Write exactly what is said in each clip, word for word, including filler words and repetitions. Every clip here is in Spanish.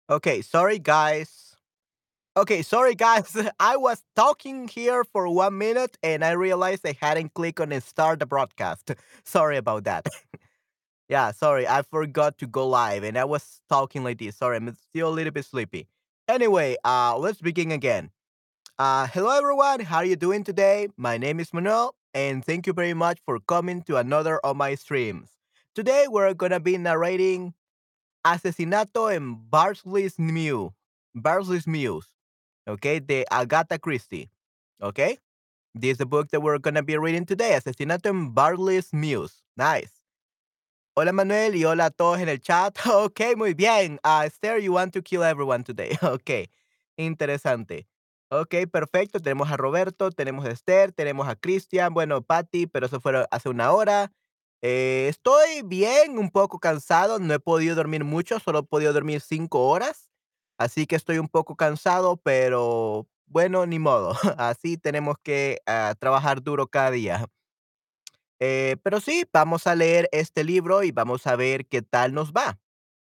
Okay, sorry guys. Okay, sorry guys. I was talking here for one minute and I realized I hadn't clicked on start the broadcast. Sorry about that. Yeah, sorry. I forgot to go live and I was talking like this. Sorry, I'm still a little bit sleepy. Anyway, uh let's begin again. Uh hello everyone. How are you doing today? My name is Manuel and thank you very much for coming to another of my streams. Today we're going to be narrating Asesinato en Barsley's Mew. Barsley's Muse. Okay, de Agatha Christie. Okay, this is the book that we're gonna be reading today. Asesinato en Barsley's Muse. Nice. Hola Manuel y hola a todos en el chat. Ok, muy bien. Uh, Esther, you want to kill everyone today. Ok, interesante. Ok, perfecto. Tenemos a Roberto, tenemos a Esther, tenemos a Cristian, bueno, Patty, pero eso fue hace una hora. Eh, estoy bien, un poco cansado. No he podido dormir mucho, solo he podido dormir cinco horas. Así que estoy un poco cansado, pero bueno, ni modo. Así tenemos que ah, trabajar duro cada día. Eh, pero sí, vamos a leer este libro y vamos a ver qué tal nos va.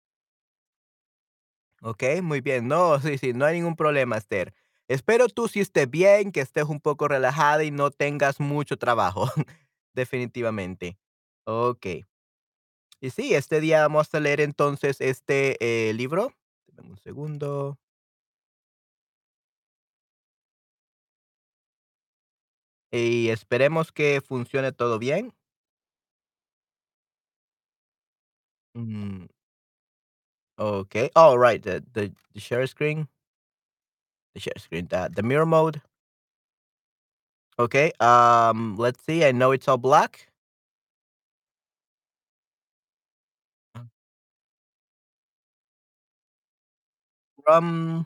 ¿Ok? Muy bien. No, sí, sí, no hay ningún problema, Esther. Espero tú sí estés bien, que estés un poco relajada y no tengas mucho trabajo. Definitivamente. Ok. Y sí, este día vamos a leer entonces este eh, libro. Dame un segundo. Y esperemos que funcione todo bien. Mm, ok. All right. The, the, the share screen. The share screen. The, the mirror mode. Okay, um, let's see. I know it's all black. Uh, From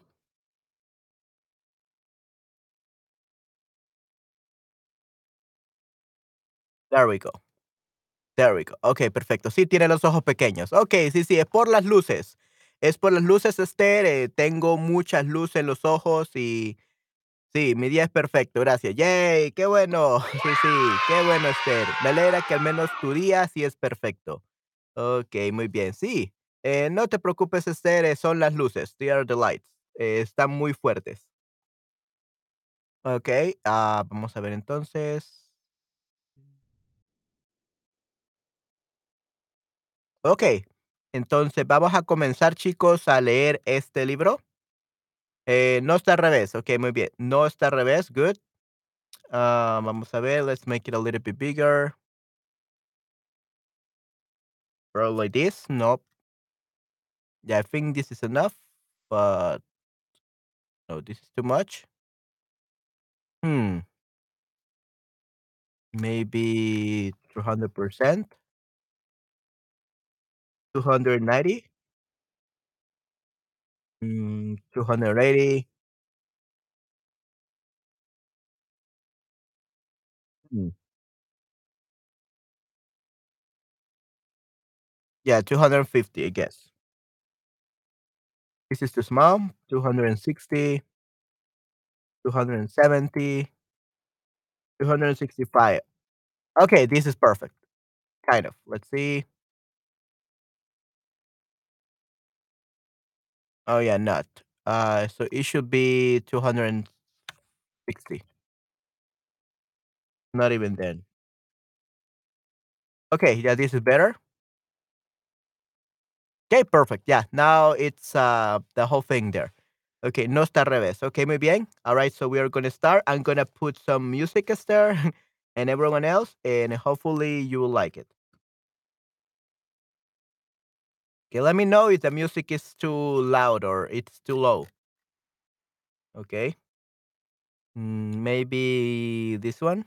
there we go. There we go. Okay, perfecto. Sí, tiene los ojos pequeños. Okay, sí, sí, es por las luces. Es por las luces, Esther. eh, tengo muchas luces en los ojos y sí, mi día es perfecto. Gracias. Yay, qué bueno. Sí, sí, qué bueno, Esther. Me alegra que al menos tu día sí es perfecto. Okay, muy bien. Sí, eh, no te preocupes, Esther. eh, son las luces. They are the lights. eh, están muy fuertes. Okay, ah, vamos a ver entonces. Ok, entonces vamos a comenzar, chicos, a leer este libro. Eh, no está al revés, ok, muy bien. No está al revés, good. Ah, vamos a ver, let's make it a little bit bigger. Probably like this. Nope. Yeah, I think this is enough, but no, this is too much. Hmm, maybe two hundred percent, two hundred ninety, mm, two hundred eighty. Hmm. Yeah, two hundred fifty, I guess. This is too small. two hundred sixty, two hundred seventy, two hundred sixty-five. Okay, this is perfect. Kind of. Let's see. Oh yeah, not. Uh, so it should be two hundred sixty. Not even then. Okay, yeah, this is better. Okay, perfect. Yeah, now it's uh the whole thing there. Okay, no está al revés. Okay, muy bien. All right, so we are gonna start. I'm gonna put some music there and everyone else, and hopefully you will like it. Okay, let me know if the music is too loud or it's too low. Okay, mm, maybe this one.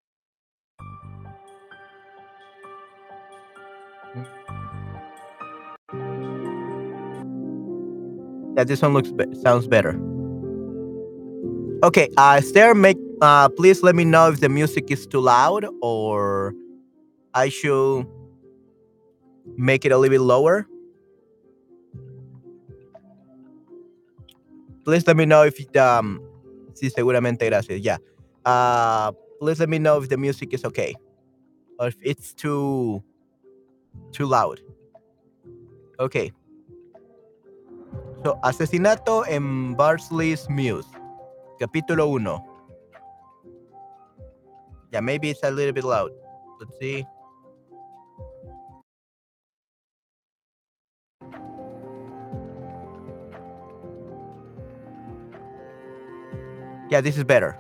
Yeah, this one looks be- sounds better. Okay, uh, Esther, make uh, please let me know if the music is too loud or I should make it a little bit lower. Please let me know if it, um, sí, seguramente, gracias. Yeah. Uh, please let me know if the music is okay or if it's too too loud. Okay. So, asesinato en Barsley's Muse. Capítulo uno. Yeah, maybe it's a little bit loud. Let's see. Yeah, this is better.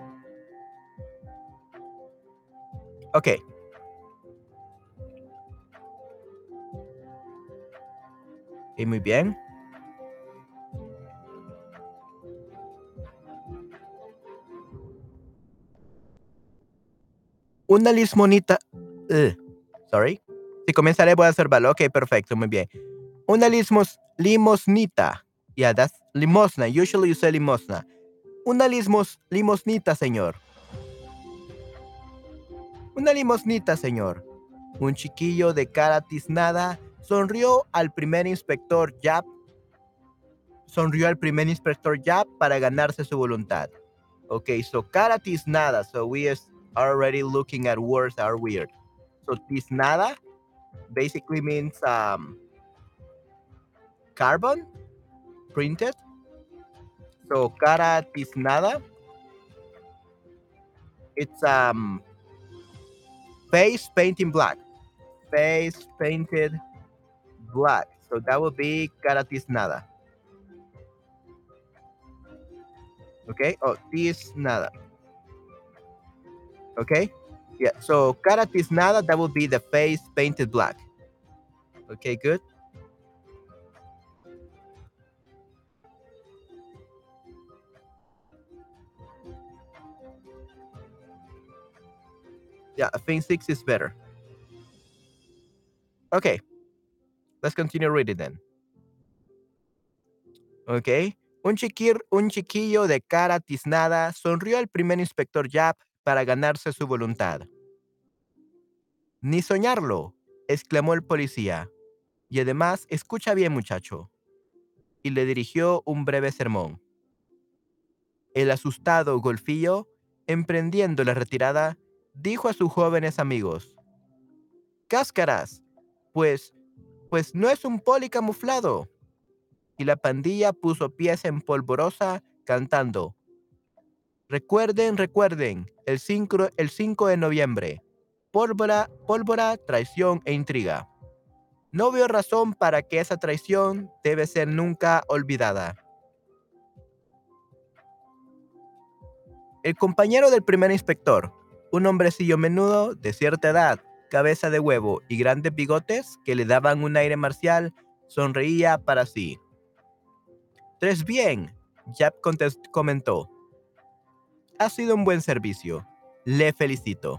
Okay. Y muy bien. Una lismonita. Ugh. Sorry. Si comenzaré, voy a observarlo. Ok, perfecto, muy bien. Una lismos, limosnita. Yeah, that's limosna. Usually you say limosna. Una lismos, limosnita, señor. Una limosnita, señor. Un chiquillo de cara tiznada sonrió al primer inspector Yap. Sonrió al primer inspector Yap para ganarse su voluntad. Okay, so cara tiznada. So we are already looking at words that are weird. So tiznada basically means um, carbon printed. So cara tiznada, it's um face painting black. Face painted black. So that would be cara tiznada. Okay. Oh, tiznada. Okay. Yeah. So cara tiznada, that would be the face painted black. Okay. Good. Yeah. I think six is better. Okay. Let's continue reading then. Ok. Un, chiquir, un chiquillo de cara tiznada sonrió al primer inspector Yap para ganarse su voluntad. Ni soñarlo, exclamó el policía. Y además, escucha bien, muchacho. Y le dirigió un breve sermón. El asustado golfillo, emprendiendo la retirada, dijo a sus jóvenes amigos: «Cáscaras, pues, pues no es un poli camuflado». Y la pandilla puso pies en polvorosa cantando: «Recuerden, recuerden, el cinco, el cinco de noviembre. Pólvora, pólvora, traición e intriga. No veo razón para que esa traición debe ser nunca olvidada». El compañero del primer inspector, un hombrecillo menudo de cierta edad, cabeza de huevo y grandes bigotes que le daban un aire marcial, sonreía para sí. «Tres bien», Yap comentó. «Ha sido un buen servicio. Le felicito».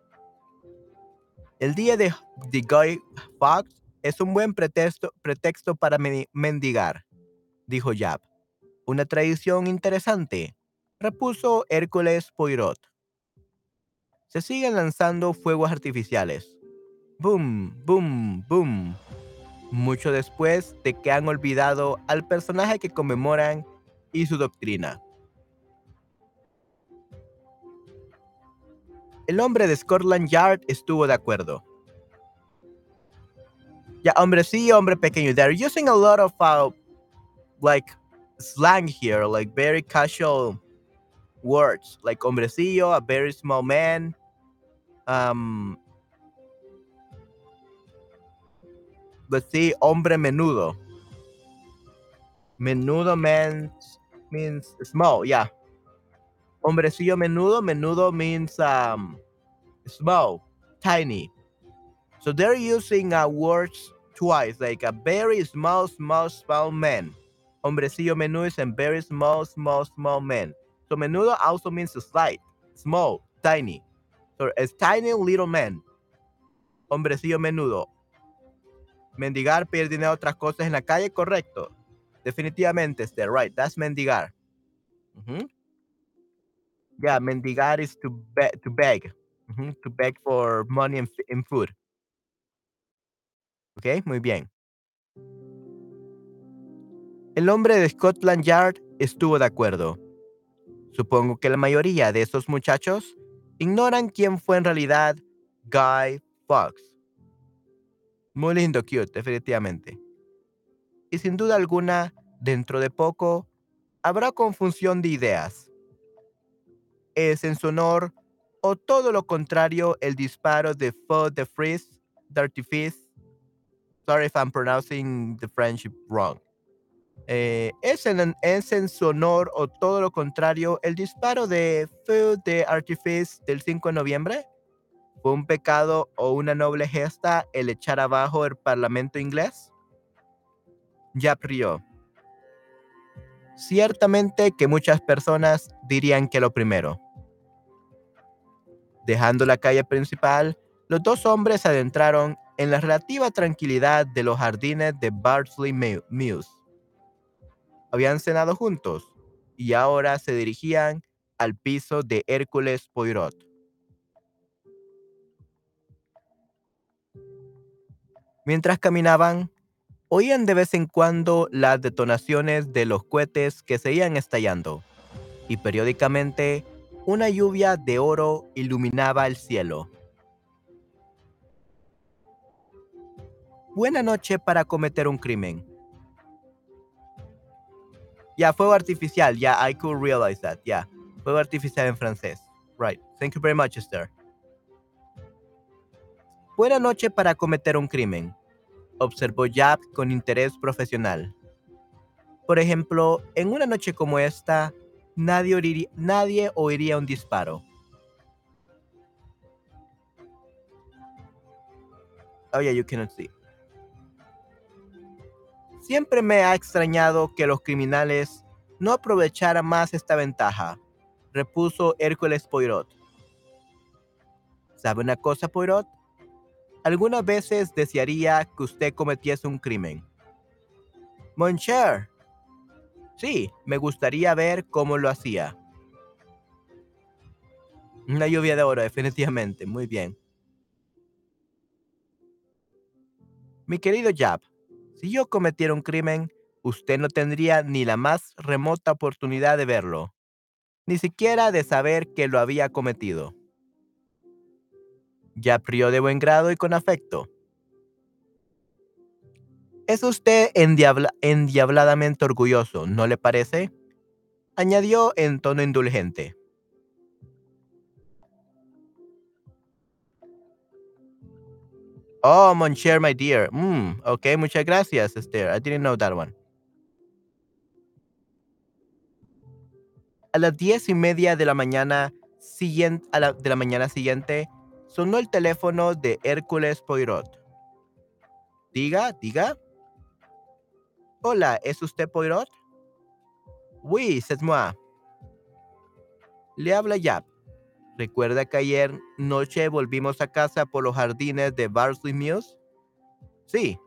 El día de, de Guy Fawkes es un buen pretexto, pretexto para mendigar, dijo Yap. Una tradición interesante, repuso Hércules Poirot. Se siguen lanzando fuegos artificiales. Boom, boom, boom. Mucho después de que han olvidado al personaje que conmemoran y su doctrina. El hombre de Scotland Yard estuvo de acuerdo. Yeah, hombrecillo, hombre pequeño. They're using a lot of uh, like slang here, like very casual words, like hombrecillo, a very small man. Um, let's see, hombre menudo. Menudo means means small, yeah. Hombrecillo menudo, menudo means um small, tiny. So they're using uh, words twice, like a very small, small, small man. Hombrecillo menudo is a very small, small, small man. So menudo also means slight, small, tiny. So a tiny little man. Hombrecillo menudo. Mendigar, pedir dinero, otras cosas en la calle, correcto. Definitivamente, este, right, that's mendigar. Mm-hmm. Yeah, mendigar is to, be to beg. Mm-hmm. To beg for money and, and food. Ok, muy bien. El hombre de Scotland Yard estuvo de acuerdo. Supongo que la mayoría de estos muchachos ignoran quién fue en realidad Guy Fawkes. Muy lindo, cute, definitivamente. Y sin duda alguna, Dentro de poco, habrá confusión de ideas. ¿Es en su honor o todo lo contrario el disparo de feu de frise d'artifice? Sorry if I'm pronouncing the French wrong. Eh, ¿es, en, ¿Es en su honor o todo lo contrario el disparo de feu de artifice del cinco de noviembre? ¿Fue un pecado o una noble gesta el echar abajo el parlamento inglés? Yap rió. Ciertamente que muchas personas dirían que lo primero. Dejando la calle principal, los dos hombres se adentraron en la relativa tranquilidad de los jardines de Bardsley Mews. Habían cenado juntos y ahora se dirigían al piso de Hércules Poirot. Mientras caminaban, oían de vez en cuando las detonaciones de los cohetes que se iban estallando, y periódicamente una lluvia de oro iluminaba el cielo. Buena noche para cometer un crimen. Ya, yeah, fuego artificial. Yeah, I could realize that. Yeah, fuego artificial en francés. Right. Thank you very much, Esther. Buena noche para cometer un crimen, observó Yap con interés profesional. Por ejemplo, en una noche como esta, nadie oiría, nadie oiría un disparo. Oh, yeah, you cannot see. Siempre me ha extrañado que los criminales no aprovecharan más esta ventaja, repuso Hércules Poirot. ¿Sabe una cosa, Poirot? Algunas veces desearía que usted cometiese un crimen. Mon cher. Sí, me gustaría ver cómo lo hacía. Una lluvia de oro, definitivamente. Muy bien. Mi querido Jab, si yo cometiera un crimen, usted no tendría ni la más remota oportunidad de verlo, ni siquiera de saber que lo había cometido. Jab rió de buen grado y con afecto. Es usted endiabla endiabladamente orgulloso, ¿no le parece? Añadió en tono indulgente. Oh, mon cher, my dear. Mm, ok, muchas gracias, Esther. I didn't know that one. A las diez y media de la mañana siguiente, a la, de la mañana siguiente, sonó el teléfono de Hércules Poirot. Diga, diga. Hola, ¿es usted Poirot? Oui, c'est moi. Le habla Yap. ¿Recuerda que ayer noche volvimos a casa por los jardines de Barsley Mews? Sí.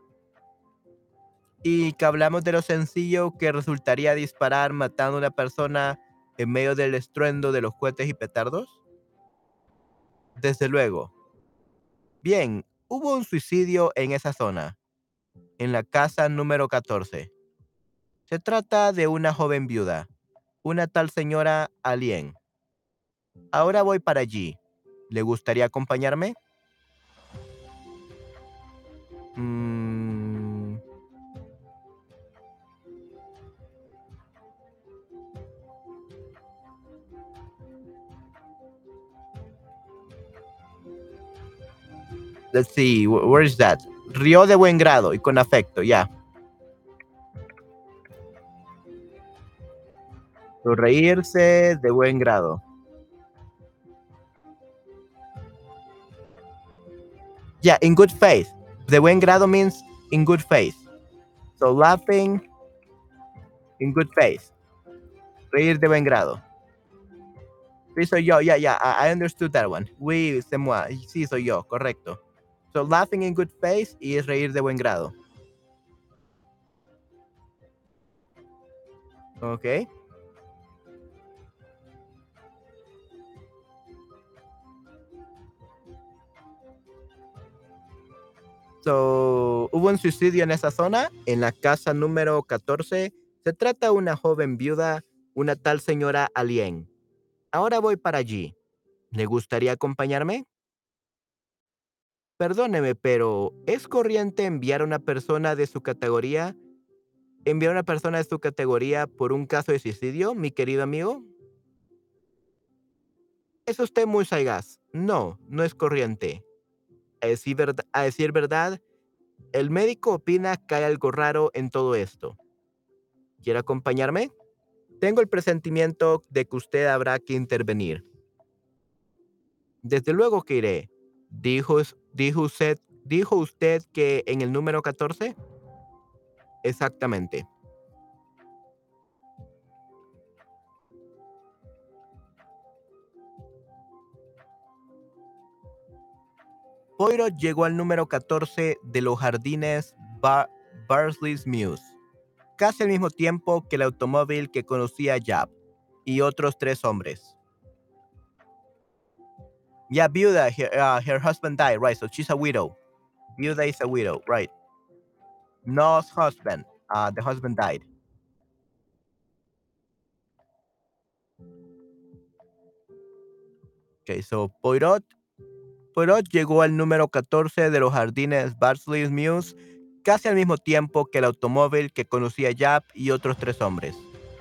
Y que hablamos de lo sencillo que resultaría disparar matando a una persona en medio del estruendo de los cohetes y petardos. Desde luego. Bien, hubo un suicidio en esa zona, en la casa número catorce. Se trata de una joven viuda, una tal señora Alien. Ahora voy para allí. ¿Le gustaría acompañarme? Mm, let's see, wh- where is that? Rió de buen grado y con afecto, ya. Yeah. Reírse de buen grado. Yeah, in good faith. De buen grado means in good faith. So laughing in good faith. Reír de buen grado. Sí, soy yo. Yeah, yeah, I, I understood that one. Oui, c'est moi. Sí, soy yo, correcto. So laughing in good faith y es reír de buen grado. Ok. So, hubo un suicidio en esa zona, en la casa número catorce. Se trata de una joven viuda, una tal señora Alien. Ahora voy para allí. ¿Le gustaría acompañarme? Perdóneme, pero ¿es corriente enviar a una persona de su categoría ¿Enviar a una persona de su categoría por un caso de suicidio, mi querido amigo? Es usted muy sagaz. No, no es corriente. A decir, verd- a decir verdad, el médico opina que hay algo raro en todo esto. ¿Quiere acompañarme? Tengo el presentimiento de que usted habrá que intervenir. Desde luego que iré. Dijo, es- dijo usted, dijo usted que en el número catorce. Exactamente. Poirot llegó al número catorce de los jardines Bar Barsley's Mews, casi al mismo tiempo que el automóvil que conocía Jab y otros tres hombres. Yeah, viuda, her, uh, her husband died, right? So she's a widow. Viuda is a widow, right? No husband. Uh, the husband died. Okay, so Poirot, Poirot llegó al número catorce de los jardines Barsley's Mews casi al mismo tiempo que el automóvil que conducía Jab y otros tres hombres.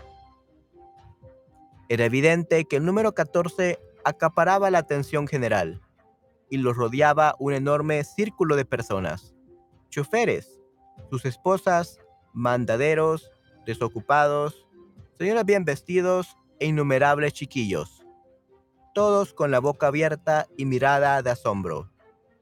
Era evidente que el número catorce acaparaba la atención general y los rodeaba un enorme círculo de personas: choferes, sus esposas, mandaderos, desocupados, señoras bien vestidos e innumerables chiquillos, todos con la boca abierta y mirada de asombro.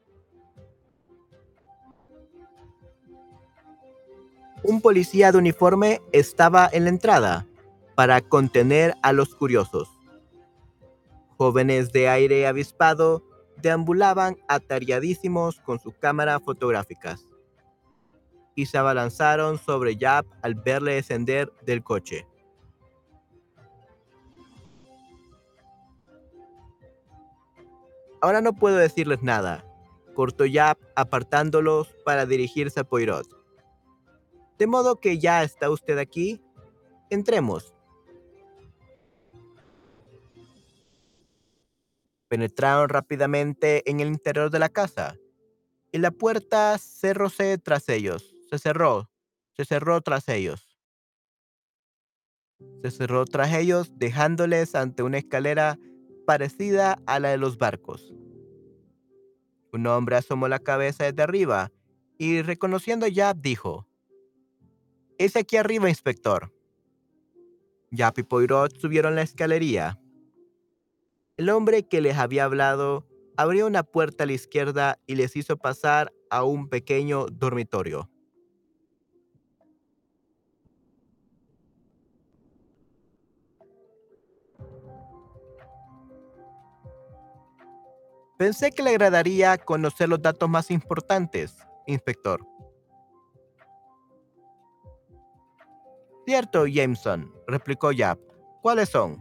Un policía de uniforme estaba en la entrada para contener a los curiosos. Jóvenes de aire avispado deambulaban atareadísimos con su cámara fotográficas y se abalanzaron sobre Yap al verle descender del coche. Ahora no puedo decirles nada, cortó Yap apartándolos para dirigirse a Poirot. De modo que ya está usted aquí, entremos. Penetraron rápidamente en el interior de la casa y la puerta cerróse tras ellos. Se cerró, se cerró tras ellos. Se cerró tras ellos, dejándoles ante una escalera parecida a la de los barcos. Un hombre asomó la cabeza desde arriba y, reconociendo a Yap, dijo: «Es aquí arriba, inspector». Yap y Poirot subieron la escalería. El hombre que les había hablado abrió una puerta a la izquierda y les hizo pasar a un pequeño dormitorio. Pensé que le agradaría conocer los datos más importantes, inspector. Cierto, Jameson, replicó Yap. ¿Cuáles son?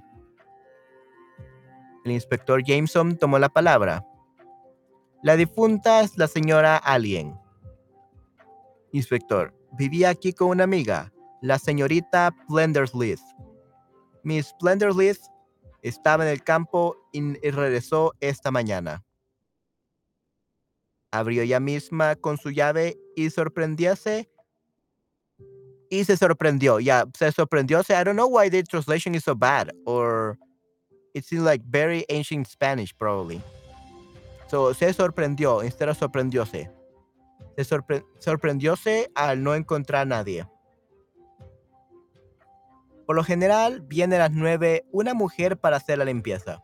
El inspector Jameson tomó la palabra. La difunta es la señora Alien. Inspector, vivía aquí con una amiga, la señorita Plendersleeth. Miss Plendersleeth estaba en el campo y y regresó esta mañana. Abrió ella misma con su llave y sorprendióse y se sorprendió. Yeah, se sorprendió. I don't know why the translation is so bad, or it seems like very ancient Spanish, probably. So, se sorprendió, instead of sorprendióse. Se sorpre sorprendióse al no encontrar a nadie. Por lo general, viene a las nueve una mujer para hacer la limpieza.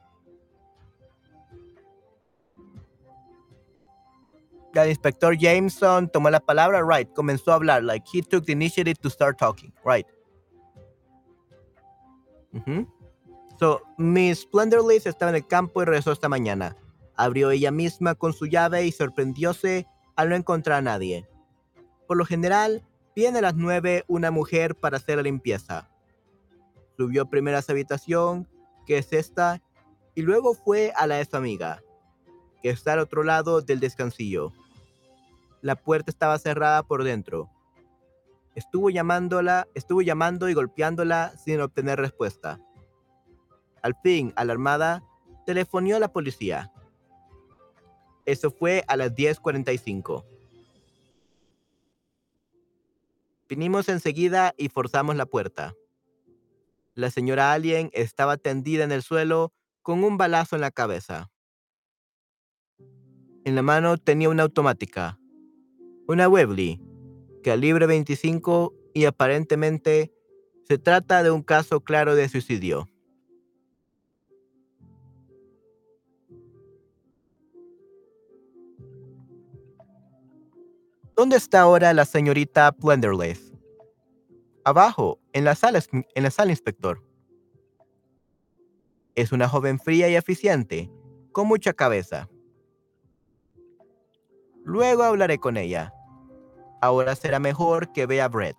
El inspector Jameson tomó la palabra, right, comenzó a hablar, like he took the initiative to start talking, right. Ujú. So, Miss Splendorless estaba en el campo y regresó esta mañana. Abrió ella misma con su llave y sorprendióse al no encontrar a nadie. Por lo general, viene a las nueve una mujer para hacer la limpieza. Subió primero a su habitación, que es esta, y luego fue a la de su amiga, que está al otro lado del descansillo. La puerta estaba cerrada por dentro. Estuvo llamándola, estuvo llamando y golpeándola sin obtener respuesta. Al fin, alarmada, telefonió a la policía. Eso fue a las diez cuarenta y cinco. Vinimos enseguida y forzamos la puerta. La señora Alien estaba tendida en el suelo con un balazo en la cabeza. En la mano tenía una automática, una Webley, calibre veinticinco, y aparentemente se trata de un caso claro de suicidio. ¿Dónde está ahora la señorita Plenderleaf? Abajo, en la sala, en la sala, inspector. Es una joven fría y eficiente, con mucha cabeza. Luego hablaré con ella. Ahora será mejor que vea a Brett.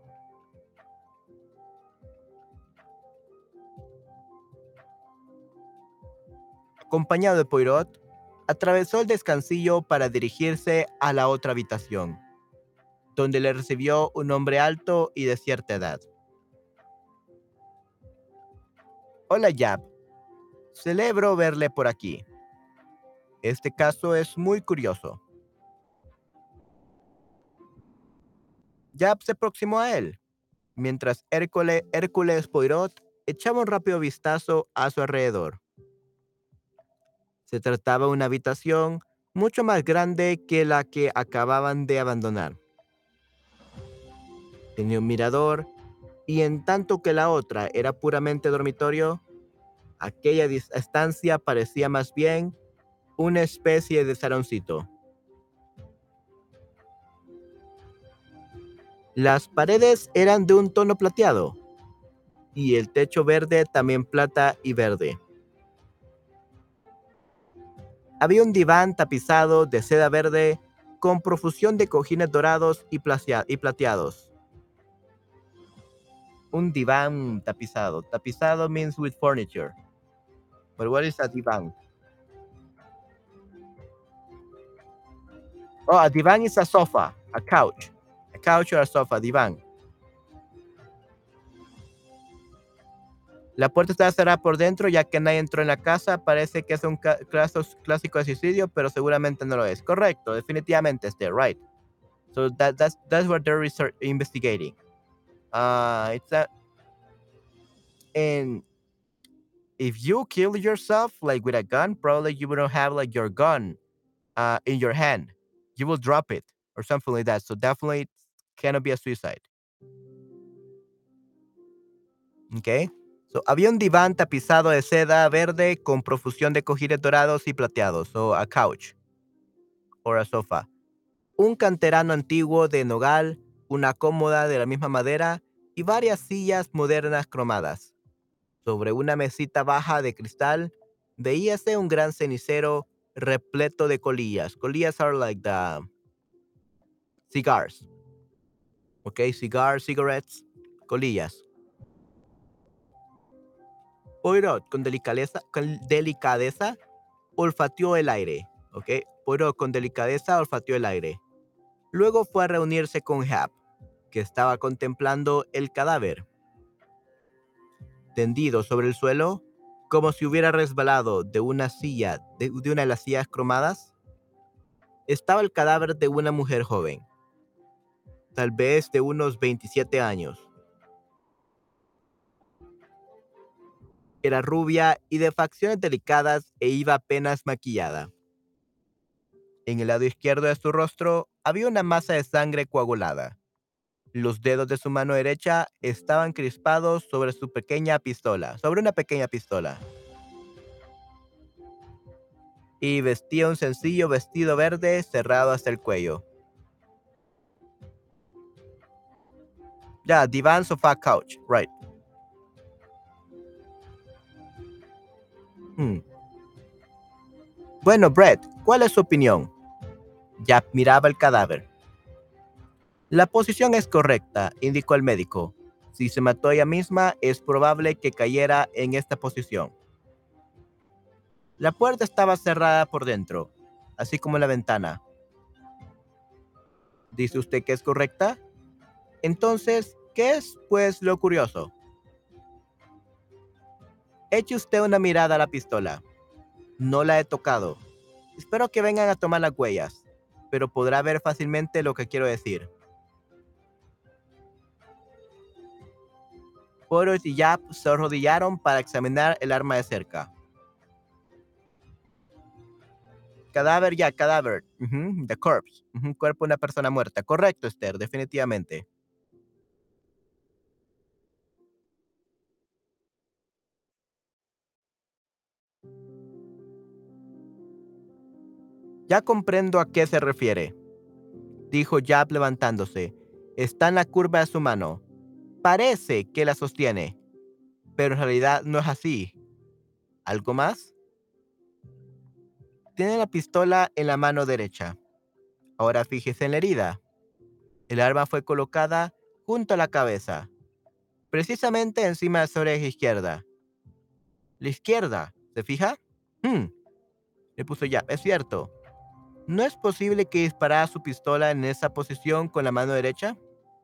Acompañado de Poirot, atravesó el descansillo para dirigirse a la otra habitación, donde le recibió un hombre alto y de cierta edad. Hola, Yap. Celebro verle por aquí. Este caso es muy curioso. Yap se aproximó a él, mientras Hércules, Hércules Poirot echaba un rápido vistazo a su alrededor. Se trataba de una habitación mucho más grande que la que acababan de abandonar. Tenía un mirador, y en tanto que la otra era puramente dormitorio, aquella dis- estancia parecía más bien una especie de saloncito. Las paredes eran de un tono plateado, y el techo verde también plata y verde. Había un diván tapizado de seda verde con profusión de cojines dorados y, placia- y plateados. Un diván tapizado. Tapizado means with furniture. But what is a divan? Oh, a divan is a sofa, a couch. A couch or a sofa, divan. La puerta está cerrada por dentro ya que nadie entró en la casa. Parece que es un ca- caso clásico de suicidio, pero seguramente no lo es. Correcto, definitivamente este, right. So that, that's, that's what they're research, investigating. Uh, it's a, and if you kill yourself like with a gun, probably you wouldn't have like your gun uh, in your hand. You will drop it or something like that. So definitely it cannot be a suicide. Okay. So, había un diván tapizado de seda verde con profusión de cojines dorados y plateados. So a couch or a sofa. Un canterano antiguo de nogal, una cómoda de la misma madera y varias sillas modernas cromadas. Sobre una mesita baja de cristal veíase un gran cenicero repleto de colillas. Colillas are like the cigars. Okay, cigars, cigarettes, colillas. Poirot, con delicadeza, con delicadeza, olfateó el aire. Ok, Poirot, con delicadeza, olfateó el aire. Luego fue a reunirse con Hap, que estaba contemplando el cadáver. Tendido sobre el suelo, como si hubiera resbalado de una silla, de, de una de las sillas cromadas, estaba el cadáver de una mujer joven, tal vez de unos veintisiete años. Era rubia y de facciones delicadas e iba apenas maquillada. En el lado izquierdo de su rostro había una masa de sangre coagulada. Los dedos de su mano derecha estaban crispados sobre su pequeña pistola, sobre una pequeña pistola. Y vestía un sencillo vestido verde cerrado hasta el cuello. Ya, divan, sofá, couch, right. Hmm. Bueno, Brett, ¿cuál es su opinión? Jack miraba el cadáver. La posición es correcta, indicó el médico. Si se mató ella misma, es probable que cayera en esta posición. La puerta estaba cerrada por dentro, así como la ventana. ¿Dice usted que es correcta? Entonces, ¿qué es, pues, lo curioso? Eche usted una mirada a la pistola. No la he tocado. Espero que vengan a tomar las huellas, pero podrá ver fácilmente lo que quiero decir. Poirot y Japp se arrodillaron para examinar el arma de cerca. Cadáver ya, cadáver. Ujú, the corpse. Ujú, cuerpo de una persona muerta. Correcto, Esther, definitivamente. Ya comprendo a qué se refiere, dijo Japp levantándose. Está en la curva de su mano. Parece que la sostiene, pero en realidad no es así. ¿Algo más? Tiene la pistola en la mano derecha. Ahora fíjese en la herida. El arma fue colocada junto a la cabeza, precisamente encima de su oreja izquierda. La izquierda, ¿se fija? Hmm, le puso ya, es cierto. ¿No es posible que disparara su pistola en esa posición con la mano derecha?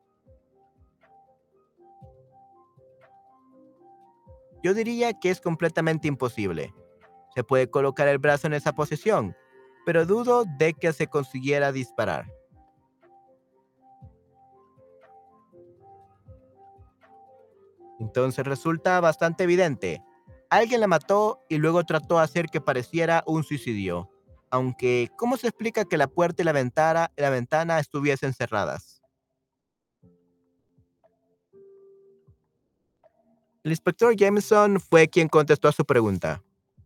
Yo diría que es completamente imposible. Se puede colocar el brazo en esa posición, pero dudo de que se consiguiera disparar. Entonces resulta bastante evidente. Alguien la mató y luego trató de hacer que pareciera un suicidio. Aunque, ¿cómo se explica que la puerta y la ventana, la ventana estuviesen cerradas? El inspector Jameson fue quien contestó a su pregunta.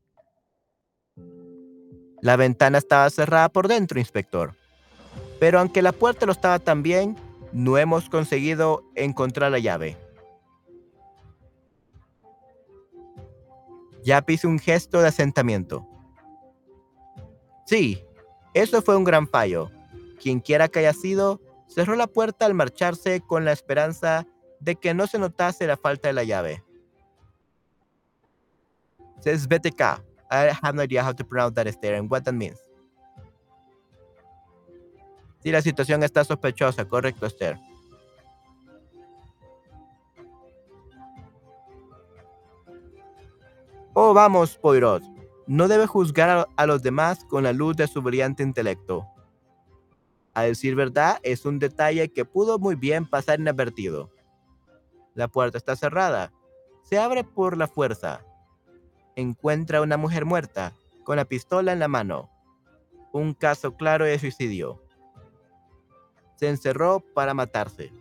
La ventana estaba cerrada por dentro, inspector. Pero aunque la puerta lo estaba también, no hemos conseguido encontrar la llave. Ya hizo un gesto de asentamiento. Sí, eso fue un gran fallo. Quienquiera que haya sido, cerró la puerta al marcharse con la esperanza de que no se notase la falta de la llave. Says B T K. I have no idea how to pronounce that Esther and what that means. Sí, la situación está sospechosa, correcto, Esther. Oh, vamos, Poirot. No debe juzgar a, a los demás con la luz de su brillante intelecto. A decir verdad, es un detalle que pudo muy bien pasar inadvertido. La puerta está cerrada. Se abre por la fuerza. Encuentra a una mujer muerta, con la pistola en la mano. Un caso claro de suicidio. Se encerró para matarse.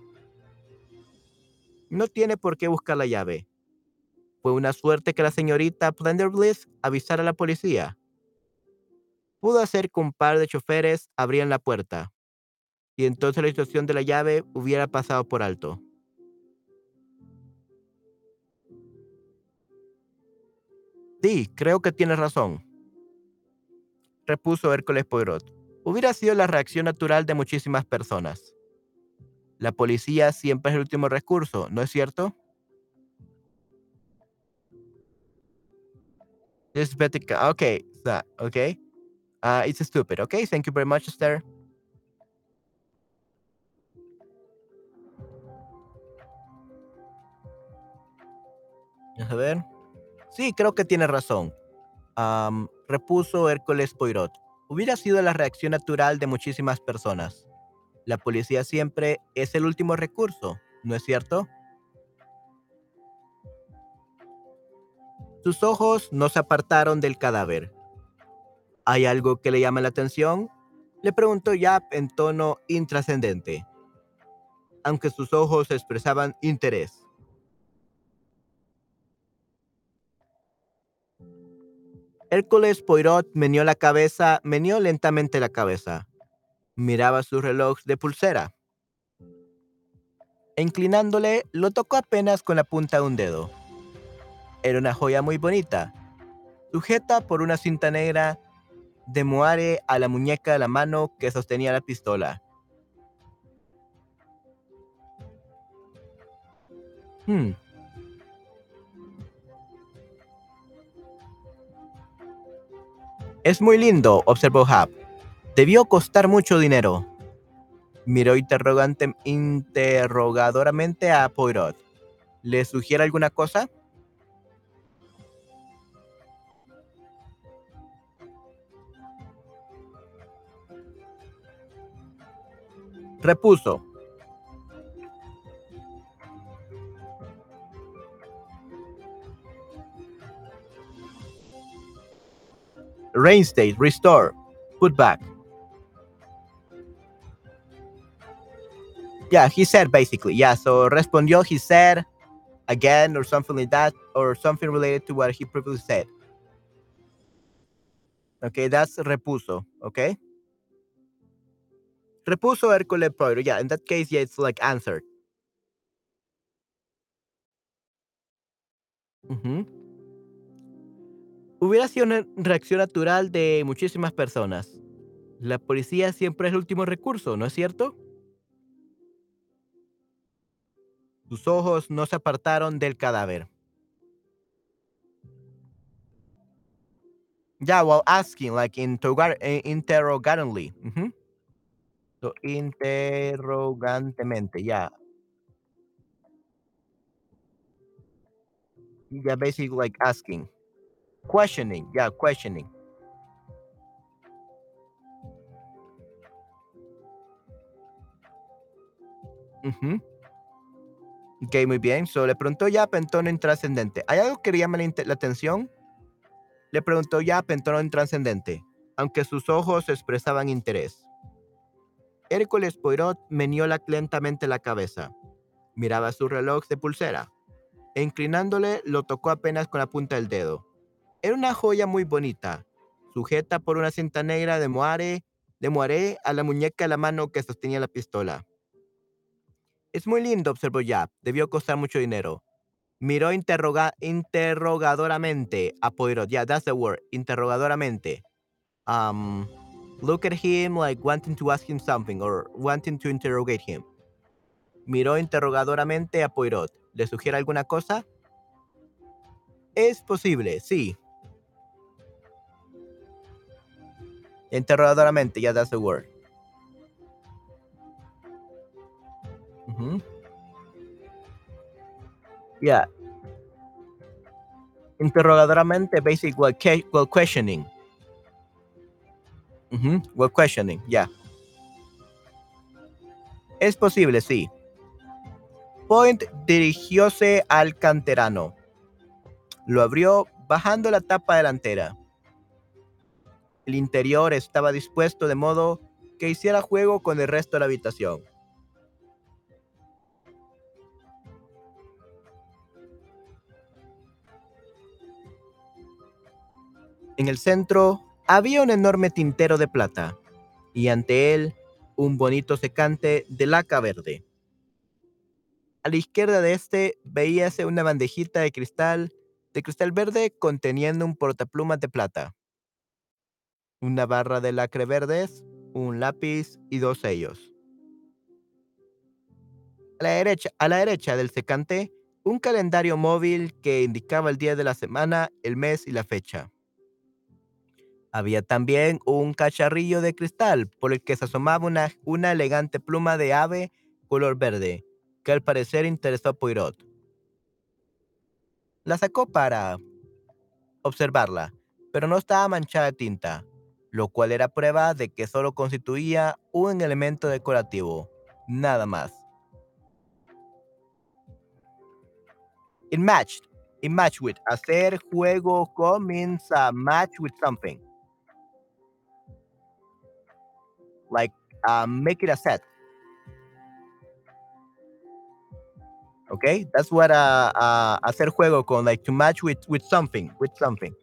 No tiene por qué buscar la llave. Fue una suerte que la señorita Plenderbliss avisara a la policía. Pudo hacer que un par de choferes abrieran la puerta, y entonces la situación de la llave hubiera pasado por alto. Sí, creo que tienes razón, repuso Hércules Poirot. Hubiera sido la reacción natural de muchísimas personas. La policía siempre es el último recurso, ¿no es cierto? Es Betica. Okay, so, okay. Uh, it's stupid. Okay, thank you very much, Esther. A ver. Sí, creo que tiene razón. Am, repuso Hércules Poirot. Hubiera sido la reacción natural de muchísimas personas. La policía siempre es el último recurso, ¿no es cierto? Sus ojos no se apartaron del cadáver. ¿Hay algo que le llama la atención? Le preguntó Yap en tono intrascendente, aunque sus ojos expresaban interés. Hércules Poirot meneó la cabeza, meneó lentamente la cabeza. Miraba su reloj de pulsera. E inclinándole, lo tocó apenas con la punta de un dedo. Era una joya muy bonita, sujeta por una cinta negra de moare a la muñeca de la mano que sostenía la pistola. Hmm, es muy lindo, observó Hap. Debió costar mucho dinero. Miró interrogante, interrogadoramente a Poirot. ¿Le sugiere alguna cosa? Repuso. Reinstate, restore, put back. Yeah, he said basically. Yeah, so respondió, he said again or something like that, or something related to what he previously said. Okay, that's repuso. Okay. Repuso Hércules Poirot. Yeah, in that case, yeah, it's like answered. Ujú. Hubiera sido una reacción natural de muchísimas personas. La policía siempre es el último recurso, ¿no es cierto? Sus ojos no se apartaron del cadáver. Yeah, while asking, like interrogar eh, interrogatingly. Ujú. So, interrogantemente, yeah. Yeah, basically like asking. Questioning, yeah, questioning. Ujú. Ok, muy bien. So, le preguntó ya en tono intrascendente. ¿Hay algo que le llama la, inte- la atención? Le preguntó ya en tono intrascendente, aunque sus ojos expresaban interés. Hércules Poirot meneó la- lentamente la cabeza. Miraba su reloj de pulsera. E inclinándole, lo tocó apenas con la punta del dedo. Era una joya muy bonita, sujeta por una cinta negra de moare, de moaré a la muñeca de la mano que sostenía la pistola. Es muy lindo, observó Yap. Debió costar mucho dinero. Miró interroga- interrogadoramente a Poirot. Yeah, that's the word. Interrogadoramente. Um, look at him like wanting to ask him something or wanting to interrogate him. Miró interrogadoramente a Poirot. ¿Le sugiere alguna cosa? Es posible, sí. Interrogadoramente, yeah, that's the word. Ujú. Yeah. Interrogadoramente, basically, while, que- while questioning. Ujú, while questioning, yeah. Es posible, sí. Point dirigióse al canterano. Lo abrió bajando la tapa delantera. El interior estaba dispuesto de modo que hiciera juego con el resto de la habitación. En el centro había un enorme tintero de plata y ante él un bonito secante de laca verde. A la izquierda de este veíase una bandejita de cristal, de cristal verde conteniendo un portaplumas de plata, una barra de lacre verdes, un lápiz y dos sellos. A la derecha, a la derecha del secante, un calendario móvil que indicaba el día de la semana, el mes y la fecha. Había también un cacharrillo de cristal por el que se asomaba una, una elegante pluma de ave color verde, que al parecer interesó a Poirot. La sacó para observarla, pero no estaba manchada de tinta, lo cual era prueba de que solo constituía un elemento decorativo, nada más. It matched. It matched with. Hacer juego con means uh, match with something. Like uh, make it a set. Okay, that's what uh, uh, hacer juego con, like to match with with something, with something.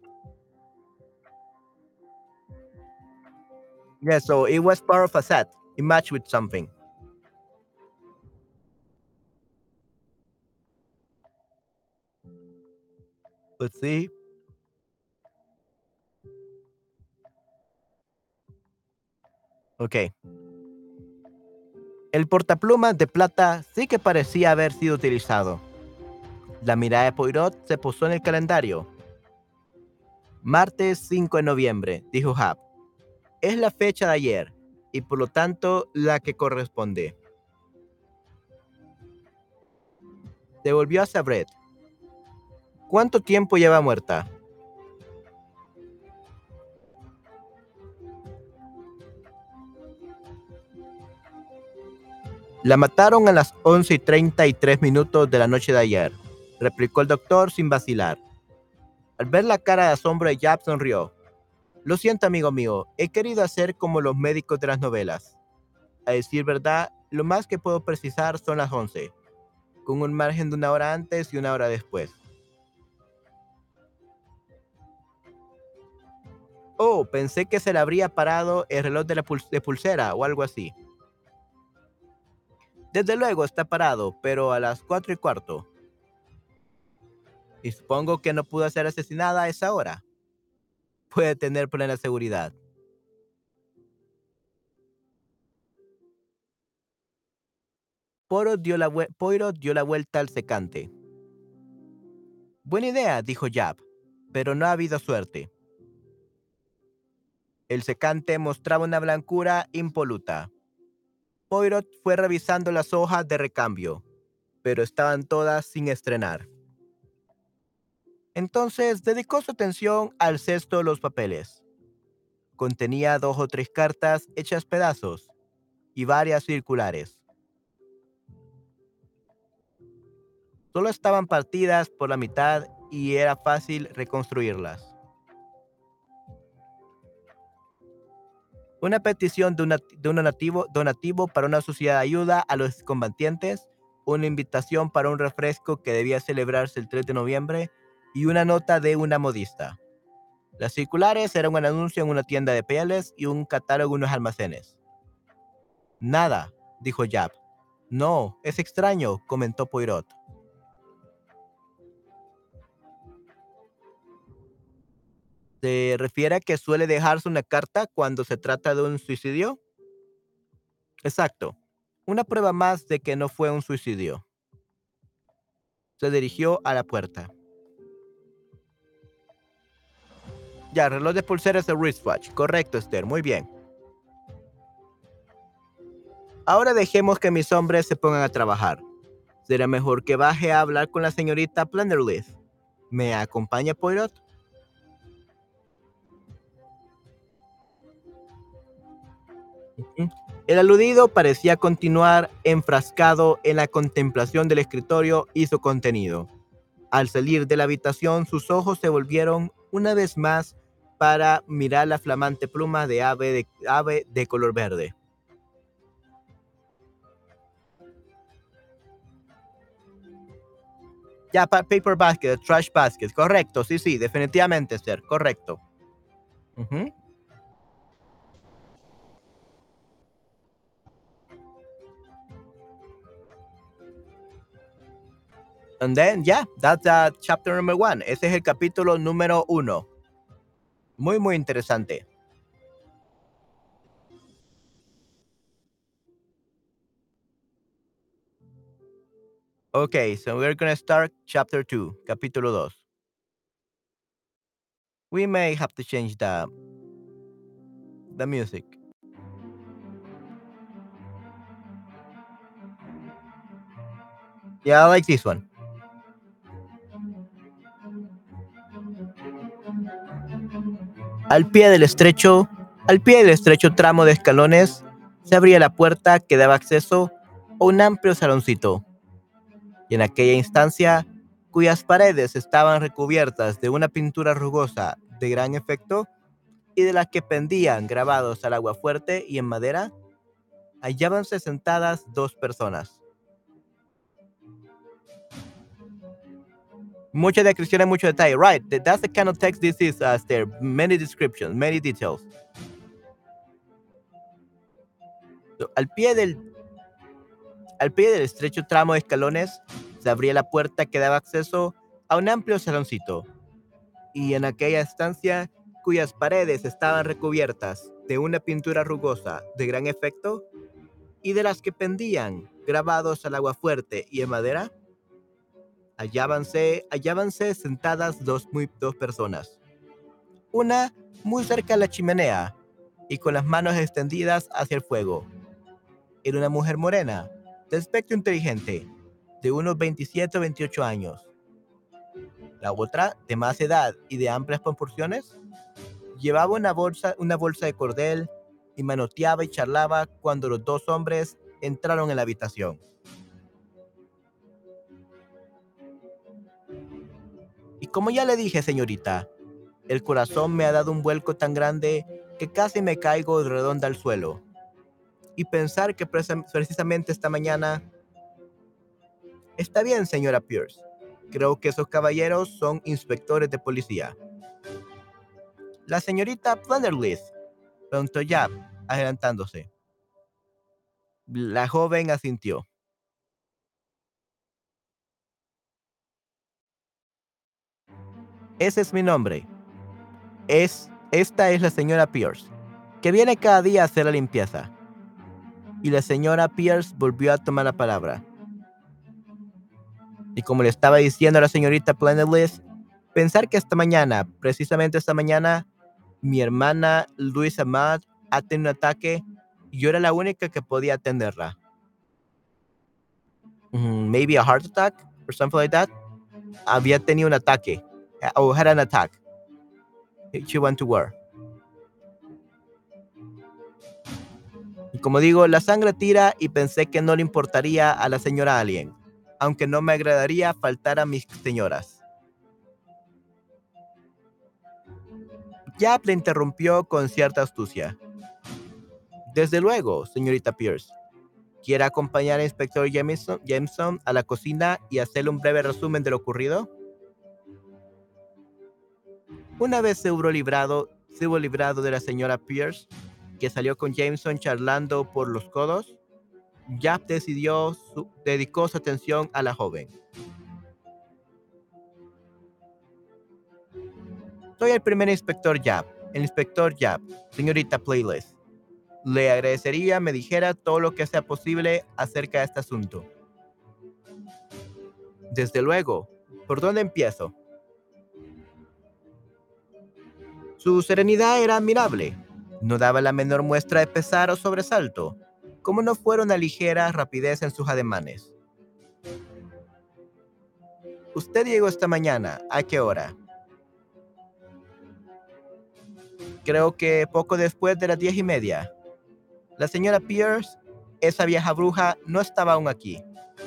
Yeah, so it was part of a set. It matched with something. Let's see. Okay. El portaplumas de plata sí que parecía haber sido utilizado. La mirada de Poirot se posó en el calendario. Martes cinco de noviembre, dijo Hap. Es la fecha de ayer y por lo tanto la que corresponde. Devolvió a Sabret. ¿Cuánto tiempo lleva muerta? La mataron a las once y treinta y tres minutos de la noche de ayer, replicó el doctor sin vacilar. Al ver la cara de asombro de Jab sonrió. Lo siento, amigo mío, he querido hacer como los médicos de las novelas. A decir verdad, lo más que puedo precisar son las once, con un margen de una hora antes y una hora después. Oh, pensé que se le habría parado el reloj de la pul- de pulsera o algo así. Desde luego está parado, pero a las cuatro y cuarto. Y supongo que no pudo ser asesinada a esa hora. Puede tener plena seguridad. Poirot dio la, vue- Poirot dio la vuelta al secante. Buena idea, dijo Jab, pero no ha habido suerte. El secante mostraba una blancura impoluta. Poirot fue revisando las hojas de recambio, pero estaban todas sin estrenar. Entonces dedicó su atención al cesto de los papeles. Contenía dos o tres cartas hechas pedazos y varias circulares. Solo estaban partidas por la mitad y era fácil reconstruirlas. Una petición de, una- de un donativo, donativo para una sociedad de ayuda a los combatientes, una invitación para un refresco que debía celebrarse el tres de noviembre y una nota de una modista. Las circulares eran un anuncio en una tienda de pieles y un catálogo en unos almacenes. Nada, dijo Jab. No, es extraño, comentó Poirot. ¿Se refiere a que suele dejarse una carta cuando se trata de un suicidio? Exacto. Una prueba más de que no fue un suicidio. Se dirigió a la puerta. Ya, reloj de pulseras de wristwatch. Correcto, Esther. Muy bien. Ahora dejemos que mis hombres se pongan a trabajar. Será mejor que baje a hablar con la señorita Plannerleaf. ¿Me acompaña, Poirot? Ujú. El aludido parecía continuar enfrascado en la contemplación del escritorio y su contenido. Al salir de la habitación, sus ojos se volvieron una vez más para mirar la flamante pluma de ave de, ave de color verde. Ya, pa- paper basket, trash basket, correcto, sí, sí, definitivamente, Sir, correcto. Ujú. And then, yeah, that's uh, chapter number one. Ese es el capítulo número uno. Muy, muy interesante. Okay, so we're gonna start chapter two, capítulo dos. We may have to change the, the music. Yeah, I like this one. Al pie del estrecho, al pie del estrecho tramo de escalones, se abría la puerta que daba acceso a un amplio saloncito. Y en aquella instancia, cuyas paredes estaban recubiertas de una pintura rugosa de gran efecto y de las que pendían grabados al agua fuerte y en madera, hallábanse sentadas dos personas. Mucha descripción y mucho detalle. Right, th- that's the kind of text this is, uh, there. Many descriptions, many details. So, al pie del Al pie del estrecho tramo de escalones se abría la puerta que daba acceso a un amplio saloncito, y en aquella estancia, cuyas paredes estaban recubiertas de una pintura rugosa de gran efecto y de las que pendían, grabados al agua fuerte y en madera, hallábanse, hallábanse sentadas dos, muy, dos personas. Una muy cerca de la chimenea y con las manos extendidas hacia el fuego. Era una mujer morena, de aspecto inteligente, de unos veintisiete o veintiocho años. La otra, de más edad y de amplias proporciones, llevaba una bolsa, una bolsa de cordel y manoteaba y charlaba cuando los dos hombres entraron en la habitación. Y como ya le dije, señorita, El corazón me ha dado un vuelco tan grande que casi me caigo de redonda al suelo. Y pensar que presa- precisamente esta mañana... Está bien, señora Pierce. Creo que esos caballeros son inspectores de policía. La señorita Plenderleaf, preguntó Jab, adelantándose. La joven asintió. Ese es mi nombre. Es, esta es la señora Pierce, que viene cada día a hacer la limpieza. Y la señora Pierce volvió a tomar la palabra. Y como le estaba diciendo a la señorita Plenderleaf, pensar que esta mañana, precisamente esta mañana, mi hermana Luisa Matt ha tenido un ataque y yo era la única que podía atenderla. Mm, maybe a heart attack or something like that. Había tenido un ataque. O had an attack. She went to war. Y como digo, la sangre tira y pensé que no le importaría a la señora Alien, aunque no me agradaría faltar a mis señoras. Yap le interrumpió con cierta astucia. Desde luego, señorita Pierce. ¿Quiere acompañar al inspector Jameson, Jameson a la cocina y hacerle un breve resumen de lo ocurrido? Una vez se hubo librado, se hubo librado de la señora Pierce, que salió con Jameson charlando por los codos, Yap decidió su, dedicó su atención a la joven. Soy el primer inspector Yap, el inspector Yap, señorita Playlist. Le agradecería me dijera todo lo que sea posible acerca de este asunto. Desde luego. ¿Por dónde empiezo? Su serenidad era admirable. No daba la menor muestra de pesar o sobresalto, como no fuera una ligera rapidez en sus ademanes. Usted llegó esta mañana. ¿A qué hora? Creo que poco después de las diez y media. La señora Pierce, esa vieja bruja, no estaba aún aquí.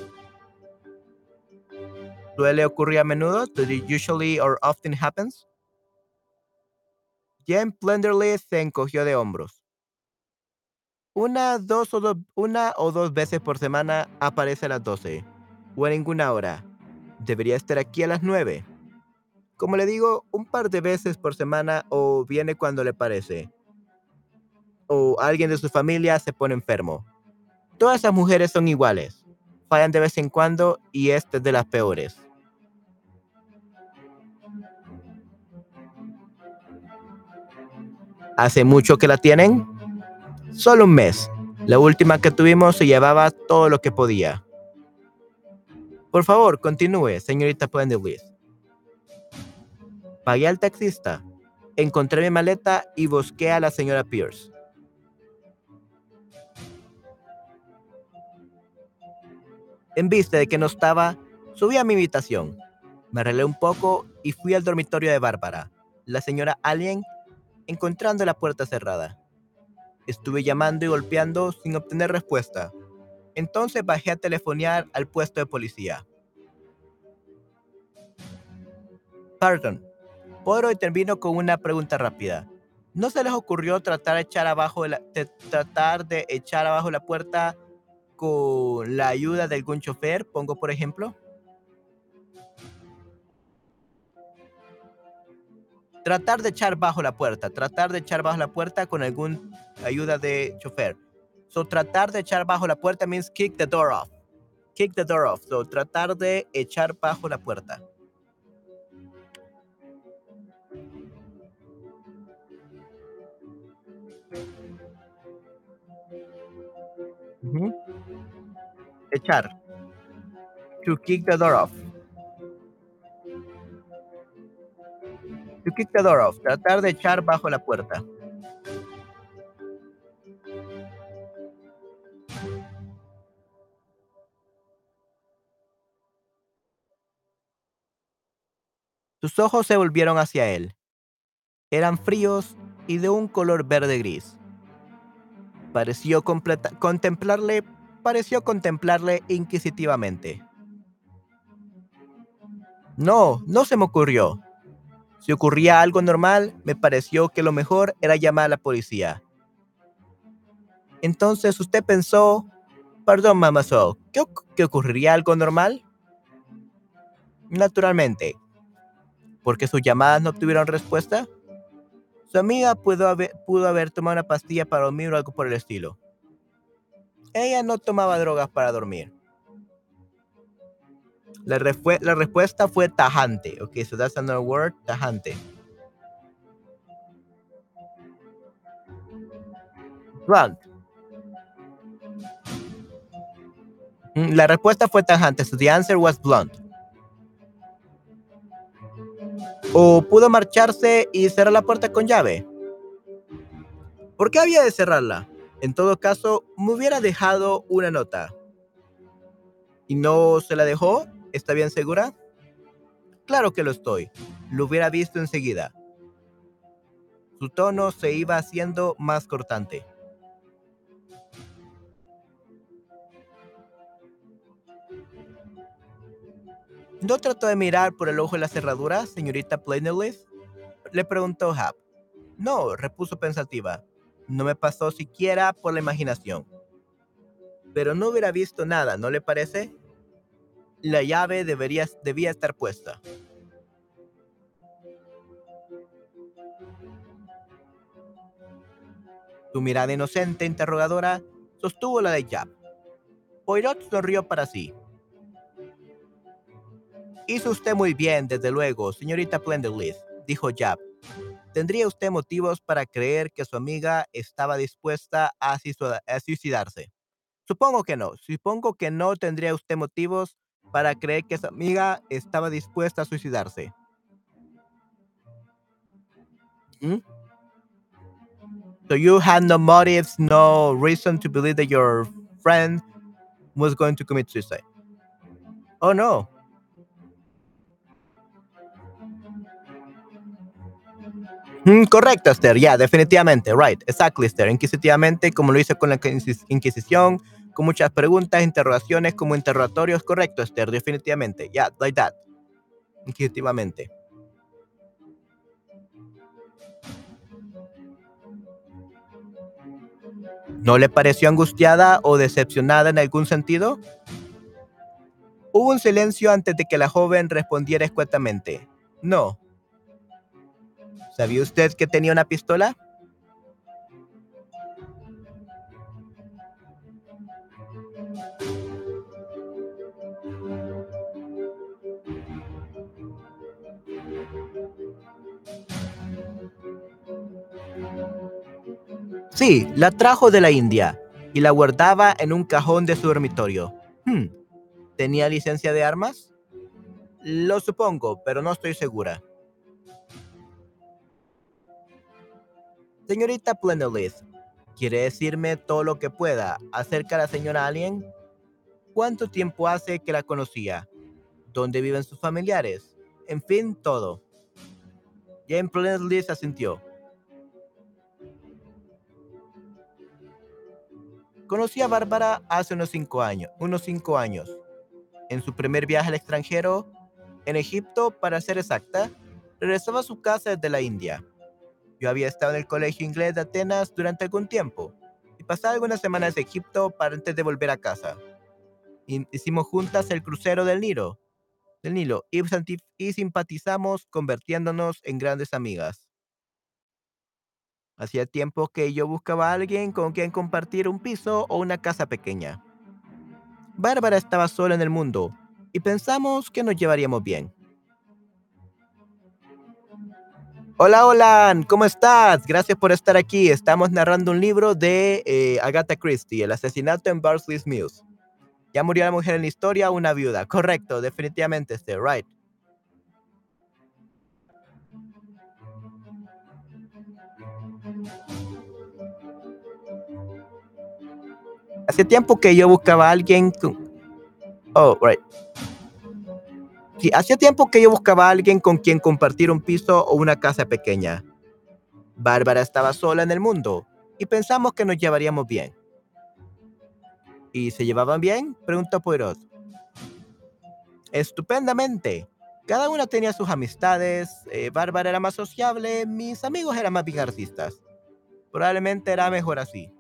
¿Suele ocurrir a menudo? ¿Does it usually or often happens? Jen Plenderly se encogió de hombros. Una, dos o dos, una o dos veces por semana aparece a las doce. O a ninguna hora. Debería estar aquí a las nueve. Como le digo, un par de veces por semana o viene cuando le parece. O alguien de su familia se pone enfermo. Todas esas mujeres son iguales. Fallan de vez en cuando y esta es de las peores. ¿Hace mucho que la tienen? Solo un mes. La última que tuvimos se llevaba todo lo que podía. Por favor, continúe, señorita Plenderleaf. Pagué al taxista. Encontré mi maleta y busqué a la señora Pierce. En vista de que no estaba, subí a mi habitación. Me arreglé un poco y fui al dormitorio de Bárbara, la señora Alien, encontrando la puerta cerrada. Estuve llamando y golpeando sin obtener respuesta. Entonces bajé a telefonear al puesto de policía. Pardon, Poro intervino con una pregunta rápida. ¿No se les ocurrió tratar de echar abajo la, de, tratar de echar abajo la puerta con la ayuda de algún chofer? Pongo por ejemplo. Tratar de echar bajo la puerta, tratar de echar bajo la puerta con alguna ayuda de chofer. So tratar de echar bajo la puerta means kick the door off. Kick the door off. So tratar de echar bajo la puerta. Uh-huh. Echar. To kick the door off. To kick the door off. Tratar de echar bajo la puerta. Sus ojos se volvieron hacia él. Eran fríos y de un color verde gris. Pareció completa- contemplarle, pareció contemplarle inquisitivamente. No, no se me ocurrió. Si ocurría algo normal, me pareció que lo mejor era llamar a la policía. Entonces usted pensó, perdón, mamá So, ¿qué, oc- ¿que ocurriría algo normal? Naturalmente, porque sus llamadas no obtuvieron respuesta. Su amiga pudo haber, pudo haber tomado una pastilla para dormir o algo por el estilo. Ella no tomaba drogas para dormir. La, refue- la respuesta fue tajante. Ok, so that's another word, tajante. Blunt. Mm, La respuesta fue tajante, so the answer was blunt. O pudo marcharse y cerrar la puerta con llave. ¿Por qué había de cerrarla? En todo caso, me hubiera dejado una nota. ¿Y no se la dejó? ¿Está bien segura? Claro que lo estoy. Lo hubiera visto enseguida. Su tono se iba haciendo más cortante. ¿No trató de mirar por el ojo de la cerradura, señorita Plainless? Le preguntó Hap. No, repuso pensativa. No me pasó siquiera por la imaginación. Pero no hubiera visto nada, ¿no le parece? La llave debería, debía estar puesta. Su mirada inocente, interrogadora, sostuvo la de Jab. Poirot sonrió para sí. Hizo usted muy bien, desde luego, señorita Plenderleaf, dijo Jab. ¿Tendría usted motivos para creer que su amiga estaba dispuesta a suicida- a suicidarse? Supongo que no. Supongo que no tendría usted motivos para creer que su amiga estaba dispuesta a suicidarse. ¿Mm? So you had no motives, no reason to believe that your friend was going to commit suicide. Oh no. Mm, correcto, Esther. Ya, definitivamente. Right. Exactly, Esther. Inquisitivamente, como lo hice con la Inquis- Inquisición, con muchas preguntas, interrogaciones, como interrogatorios. Correcto, Esther. Definitivamente. Ya, yeah, like that. Inquisitivamente. ¿No le pareció angustiada o decepcionada en algún sentido? Hubo un silencio antes de que la joven respondiera escuetamente. No. ¿Sabía usted que tenía una pistola? Sí, la trajo de la India y la guardaba en un cajón de su dormitorio. Hmm, ¿tenía licencia de armas? Lo supongo, pero no estoy segura. Señorita Plenolith, ¿quiere decirme todo lo que pueda acerca de la señora Alien? ¿Cuánto tiempo hace que la conocía? ¿Dónde viven sus familiares? En fin, todo. Jane Plenolith asintió. Conocí a Bárbara hace unos cinco años, unos cinco años. En su primer viaje al extranjero, en Egipto, para ser exacta, regresaba a su casa desde la India. Yo había estado en el colegio inglés de Atenas durante algún tiempo y pasaba algunas semanas en Egipto para antes de volver a casa. Y hicimos juntas el crucero del Nilo, del Nilo y, santi- y simpatizamos convirtiéndonos en grandes amigas. Hacía tiempo que yo buscaba a alguien con quien compartir un piso o una casa pequeña. Bárbara estaba sola en el mundo y pensamos que nos llevaríamos bien. Hola, hola, ¿cómo estás? Gracias por estar aquí. Estamos narrando un libro de eh, Agatha Christie, El asesinato en Barclays Mills. Ya murió la mujer en la historia, una viuda. Correcto, definitivamente, este, right. Hace tiempo que yo buscaba a alguien con... Oh, right. Sí, hacía tiempo que yo buscaba a alguien con quien compartir un piso o una casa pequeña. Bárbara estaba sola en el mundo y pensamos que nos llevaríamos bien. ¿Y se llevaban bien? Preguntó Poirot. Estupendamente. Cada una tenía sus amistades. eh, Bárbara era más sociable, mis amigos eran más bien artistas. Probablemente era mejor así.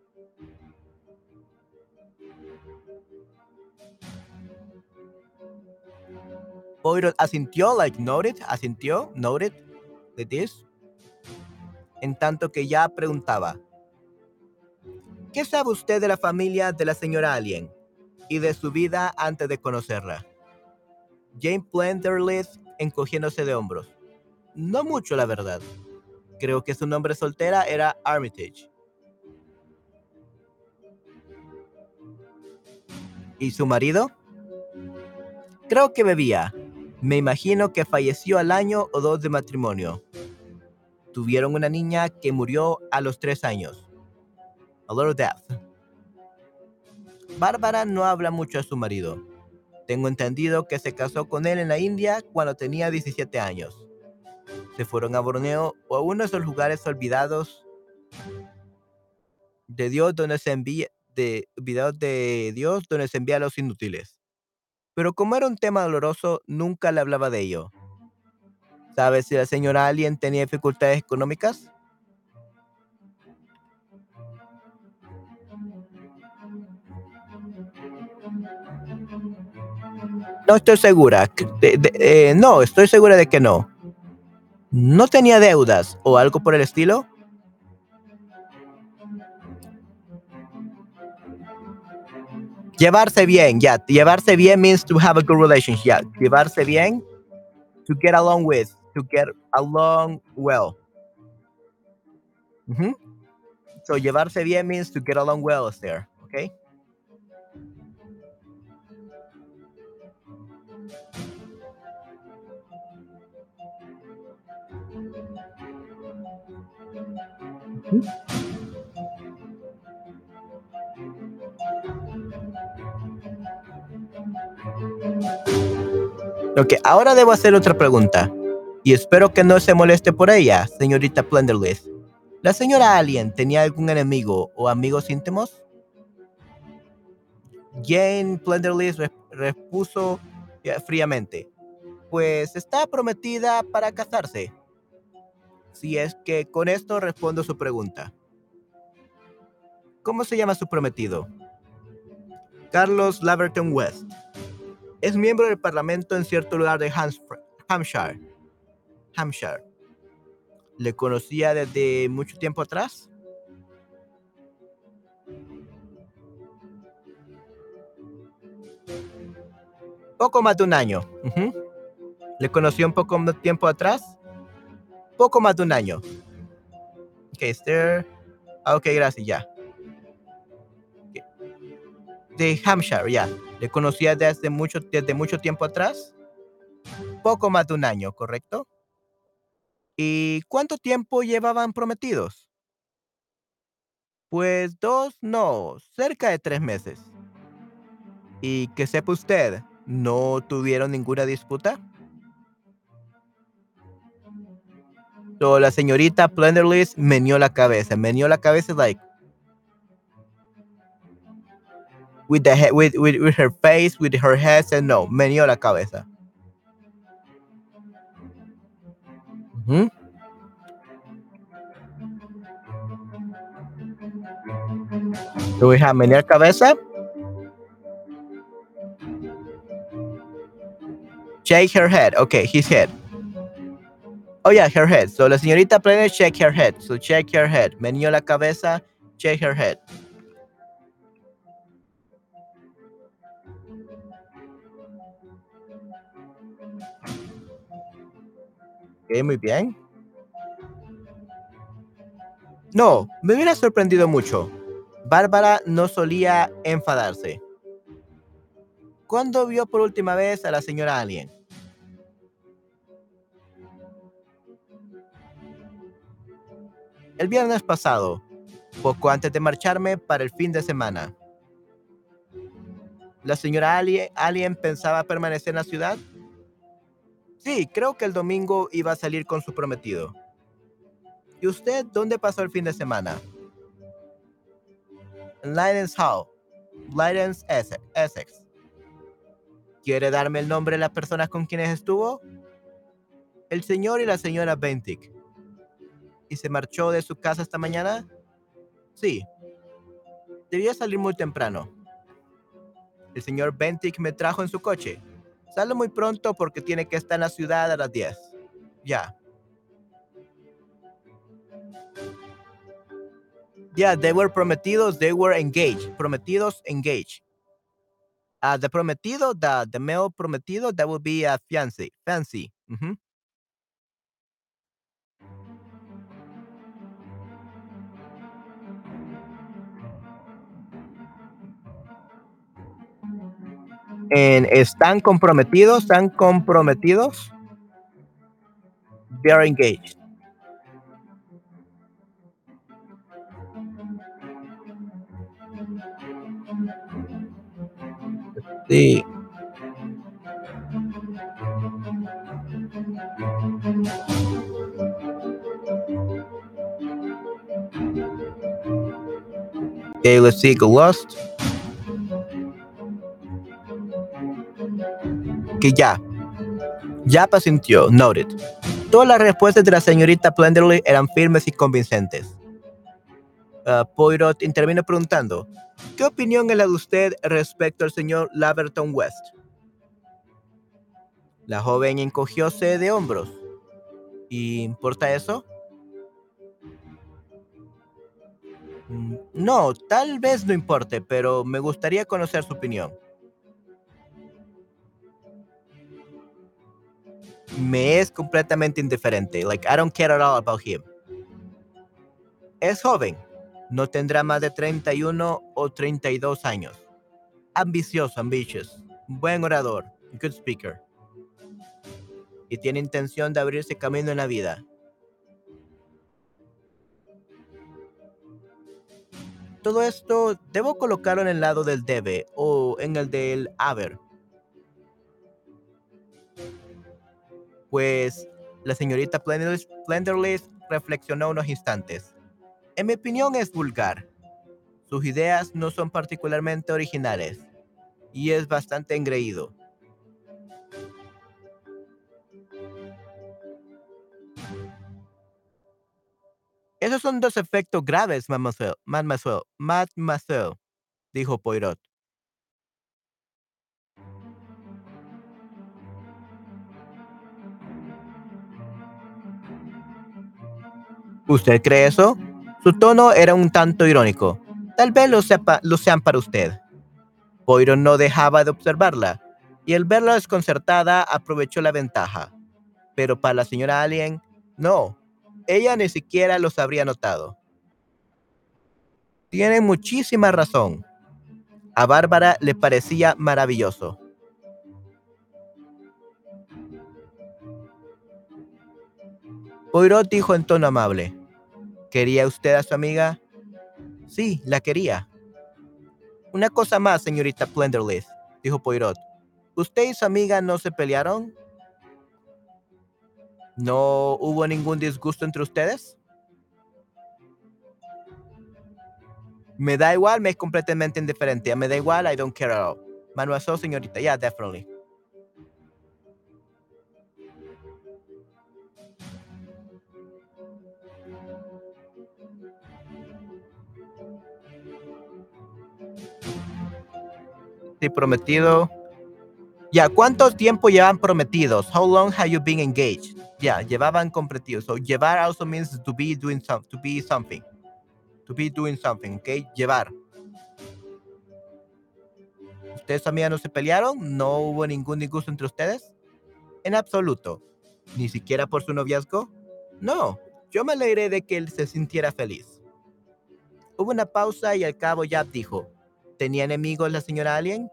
Poirot asintió, like noted, asintió, noted, de this, en tanto que ya preguntaba, ¿qué sabe usted de la familia de la señora Alien y de su vida antes de conocerla? Jane Plenderleith encogiéndose de hombros. No mucho, la verdad. Creo que su nombre soltera era Armitage. ¿Y su marido? Creo que bebía. Me imagino que falleció al año o dos de matrimonio. Tuvieron una niña que murió a los tres años. A little death. Bárbara no habla mucho a su marido. Tengo entendido que se casó con él en la India cuando tenía diecisiete años. Se fueron a Borneo o a uno de esos lugares olvidados de Dios donde se envía de olvidados de Dios donde se envía a los inútiles. Pero como era un tema doloroso, nunca le hablaba de ello. ¿Sabes si la señora Alien tenía dificultades económicas? No estoy segura. De- de- eh, no, estoy segura de que no. ¿No tenía deudas o algo por el estilo? Llevarse bien, ya. Llevarse bien means to have a good relationship. Yeah. Llevarse bien, to get along with, to get along well. Mhm. So llevarse bien means to get along well is there, okay? Ok, ahora debo hacer otra pregunta. Y espero que no se moleste por ella, señorita Plenderlist. ¿La señora Alien tenía algún enemigo o amigos íntimos? Jane Plenderlist re- repuso eh, fríamente. Pues está prometida para casarse. Si es que con esto respondo su pregunta. ¿Cómo se llama su prometido? Carlos Laverton West. Es miembro del parlamento en cierto lugar de Hams- Hampshire. Hampshire. ¿Le conocía desde mucho tiempo atrás? Poco más de un año. Ujú. ¿Le conoció un poco más tiempo atrás? Poco más de un año. Ok, Esther. Ah, ok, gracias, ya. De Hampshire, ya. ¿Le conocía desde mucho, desde mucho tiempo atrás? Poco más de un año, ¿correcto? ¿Y cuánto tiempo llevaban prometidos? Pues dos, no, cerca de tres meses. Y que sepa usted, ¿no tuvieron ninguna disputa? So, la señorita Plenderlist meneó la cabeza. Meneó la cabeza, like, with, the he- with, with, with her face, with her head, said no, meneó la cabeza. Ujú. So, we have menear cabeza, shake her head. Okay, his head. Oh, yeah, her head. So, la señorita Plenderlist shake her head. So, shake her head. Meneó la cabeza, shake her head. Ok, muy bien. No, me hubiera sorprendido mucho. Bárbara no solía enfadarse. ¿Cuándo vio por última vez a la señora Alien? El viernes pasado, poco antes de marcharme para el fin de semana. ¿La señora Alien, Alien pensaba permanecer en la ciudad? Sí, creo que el domingo iba a salir con su prometido. ¿Y usted dónde pasó el fin de semana? En Lydens Hall, Lydens, Essex. Essex. ¿Quiere darme el nombre de las personas con quienes estuvo? El señor y la señora Bentic. ¿Y se marchó de su casa esta mañana? Sí. Debía salir muy temprano. El señor Bentic me trajo en su coche. Sale muy pronto porque tiene que estar en la ciudad a las diez. Ya. Yeah, they were prometidos, they were engaged. Prometidos, engaged. Uh, the prometido, the, the male prometido, that would be a fiancé. Fancy. Mhm. And están comprometidos, están comprometidos. They are engaged. Sí. Okay, let's see, Lost. Que ya. Ya pasintió. Noted. Todas las respuestas de la señorita Plenderly eran firmes y convincentes. Uh, Poirot intervino preguntando, ¿qué opinión es la de usted respecto al señor Laverton West? La joven encogióse de hombros. ¿Y importa eso? "Mm, No, tal vez no importe, pero me gustaría conocer su opinión. Me es completamente indiferente. Like, I don't care at all about him. Es joven. No tendrá más de treinta y uno o treinta y dos años. Ambicioso, ambitious. Buen orador. Good speaker. Y tiene intención de abrirse camino en la vida. Todo esto debo colocarlo en el lado del debe o en el del haber. Pues la señorita Plenderless, Plenderless reflexionó unos instantes. En mi opinión es vulgar. Sus ideas no son particularmente originales y es bastante engreído. Esos son dos efectos graves, mademoiselle, mademoiselle, mademoiselle, dijo Poirot. ¿Usted cree eso? Su tono era un tanto irónico. Tal vez lo, sepa, lo sean para usted. Poirot no dejaba de observarla, y al verla desconcertada aprovechó la ventaja. Pero para la señora Alien, no. Ella ni siquiera los habría notado. Tiene muchísima razón. A Bárbara le parecía maravilloso. Poirot dijo en tono amable. ¿Quería usted a su amiga? Sí, la quería. Una cosa más, señorita Plenderleaf, dijo Poirot. ¿Usted y su amiga no se pelearon? ¿No hubo ningún disgusto entre ustedes? Me da igual, me es completamente indiferente. Me da igual, I don't care at all. Manuazo, señorita, yeah, definitely. Sí, prometido. Ya, ¿cuánto tiempo llevan prometidos? How long have you been engaged? Ya, llevaban comprometidos. So, llevar also means to be doing some, to be something. To be doing something, ¿ok? Llevar. ¿Ustedes también no se pelearon? ¿No hubo ningún disgusto entre ustedes? En absoluto. ¿Ni siquiera por su noviazgo? No. Yo me alegré de que él se sintiera feliz. Hubo una pausa y al cabo Yap dijo, ¿tenía enemigos la señora Alien?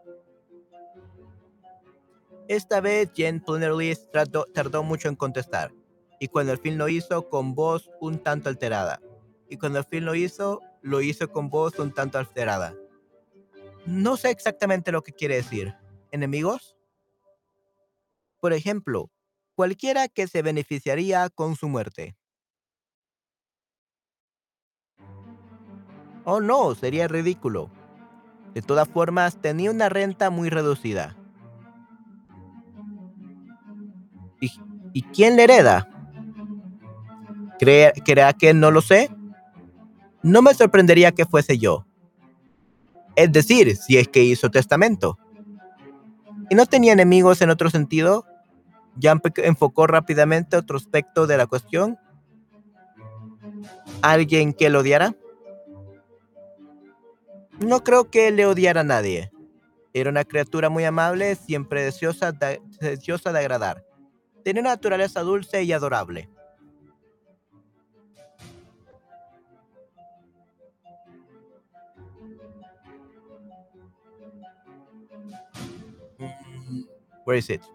Esta vez Jen Plenderleaf tardó, tardó mucho en contestar, y cuando al fin lo hizo con voz un tanto alterada. Y cuando al fin lo hizo, lo hizo con voz un tanto alterada. No sé exactamente lo que quiere decir. ¿Enemigos? Por ejemplo, cualquiera que se beneficiaría con su muerte. Oh no, sería ridículo. De todas formas, tenía una renta muy reducida. ¿Y, y quién le hereda? ¿Cree, ¿Crea que no lo sé? No me sorprendería que fuese yo. Es decir, si es que hizo testamento. ¿Y no tenía enemigos en otro sentido? Jan enfocó rápidamente otro aspecto de la cuestión. ¿Alguien que lo odiara? No creo que le odiara a nadie. Era una criatura muy amable, siempre deseosa de, deseosa de agradar. Tenía una naturaleza dulce y adorable. Mm, Where is it?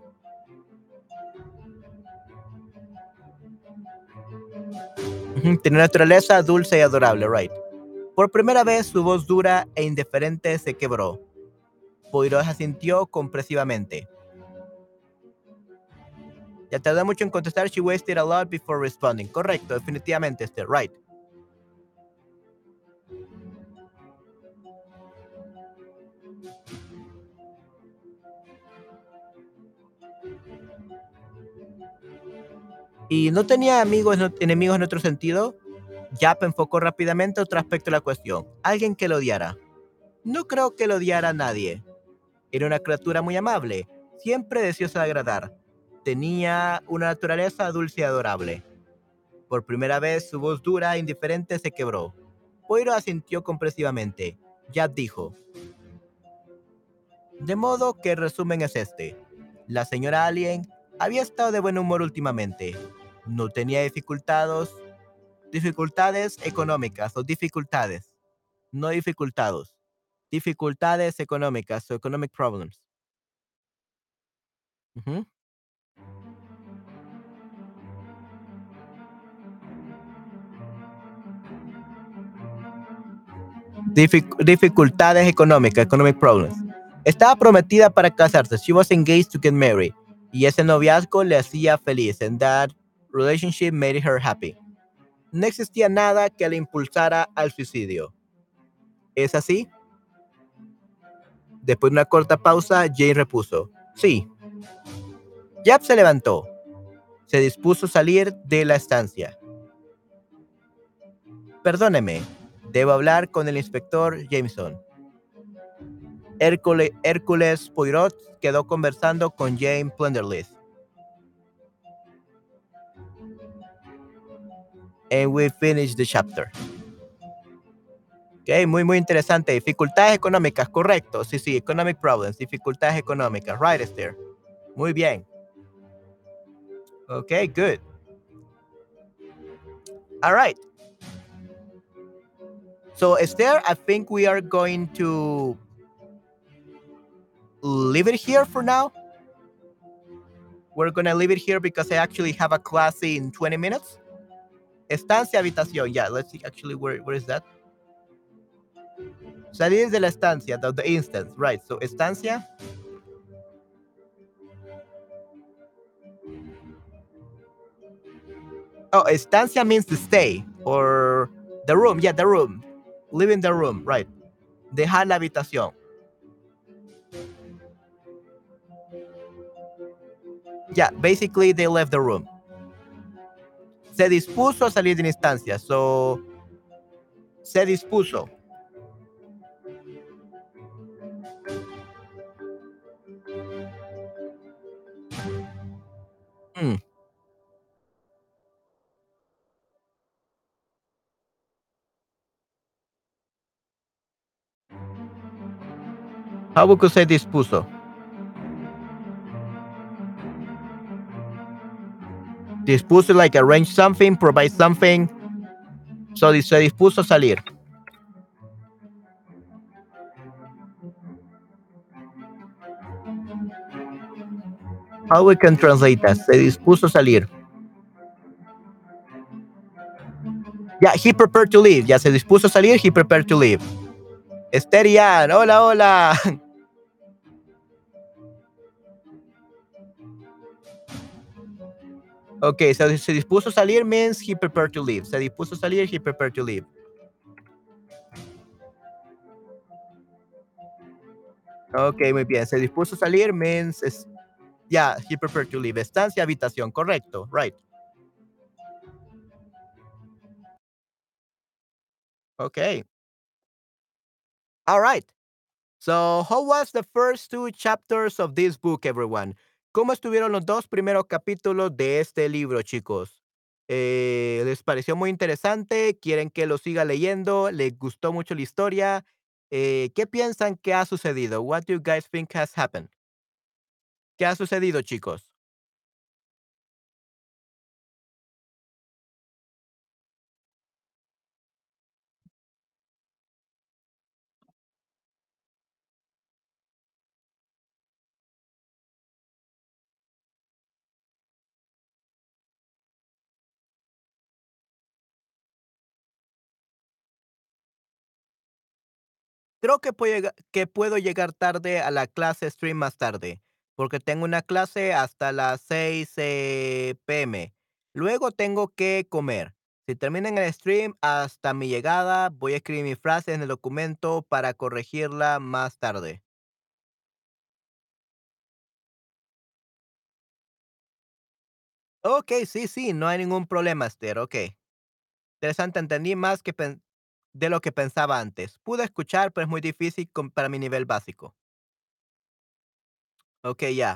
Ujú, Tenía una naturaleza dulce y adorable, right. Por primera vez su voz dura e indiferente se quebró. Poirot asintió compresivamente. Ya tardó mucho en contestar. She wasted a lot before responding. Correcto, definitivamente, este, right. Y no tenía amigos, no, enemigos en otro sentido. Yap enfocó rápidamente otro aspecto de la cuestión. Alguien que lo odiara. No creo que lo odiara a nadie. Era una criatura muy amable, siempre deseosa de agradar. Tenía una naturaleza dulce y adorable. Por primera vez su voz dura e indiferente se quebró. Poirot asintió compresivamente. Yap dijo: de modo que el resumen es este. La señora Alien había estado de buen humor últimamente. No tenía dificultades, dificultades económicas o dificultades, no dificultados. Dificultades económicas o economic problems. Ujú. Dific- dificultades económicas, economic problems. Estaba prometida para casarse. She was engaged to get married. Y ese noviazgo le hacía feliz. And that relationship made her happy. No existía nada que le impulsara al suicidio. ¿Es así? Después de una corta pausa, Jane repuso: sí. Jap se levantó. Se dispuso a salir de la estancia. Perdóneme, debo hablar con el inspector Jameson. Hércules, Hércules Poirot quedó conversando con Jane Plenderleaf. And we finished the chapter. Ok, muy, muy interesante. Dificultades económicas, correcto. Sí, sí, economic problems, dificultades económicas. Right, Esther. Muy bien. Ok, good. All right. So, Esther, I think we are going to leave it here for now. We're going to leave it here because I actually have a class in twenty minutes. Estancia, habitación. Yeah, let's see actually where, where is that? Salir de la estancia, the, the instance, right. So, estancia. Oh, estancia means to stay or the room. Yeah, the room. Live in the room, right. Dejar la habitación. Yeah, basically they left the room. Se dispuso a salir de la instancia. So, se dispuso. Hmm. How would you say dispuso? Dispuso like arrange something, provide something. So, se dispuso a salir. How we can translate that? Se dispuso a salir. Yeah, he prepared to leave. Ya se dispuso a salir, he prepared to leave. Esterian, hola, hola. Okay, so se dispuso a salir means he prepared to leave. Se dispuso a salir, he prepared to leave. Okay, muy bien. Se dispuso a salir means, es, Yeah, he preferred to leave. Estancia, habitación, correcto. Right. Okay. All right. So, how was the first two chapters of this book, everyone? ¿Cómo estuvieron los dos primeros capítulos de este libro, chicos? Eh, ¿Les pareció muy interesante? ¿Quieren que lo siga leyendo? ¿Les gustó mucho la historia? Eh, ¿qué piensan que ha sucedido? What do you guys think has happened? ¿Qué ha sucedido, chicos? Creo que puedo llega que puedo llegar tarde a la clase stream más tarde, porque tengo una clase hasta las seis, eh, p m. Luego tengo que comer. Si termina en el stream, hasta mi llegada, voy a escribir mi frase en el documento para corregirla más tarde. Okey, sí, sí, no hay ningún problema, Esther, okey. Interesante, entendí más que pen de lo que pensaba antes. Pude escuchar, pero es muy difícil con para mi nivel básico. Okey, ya.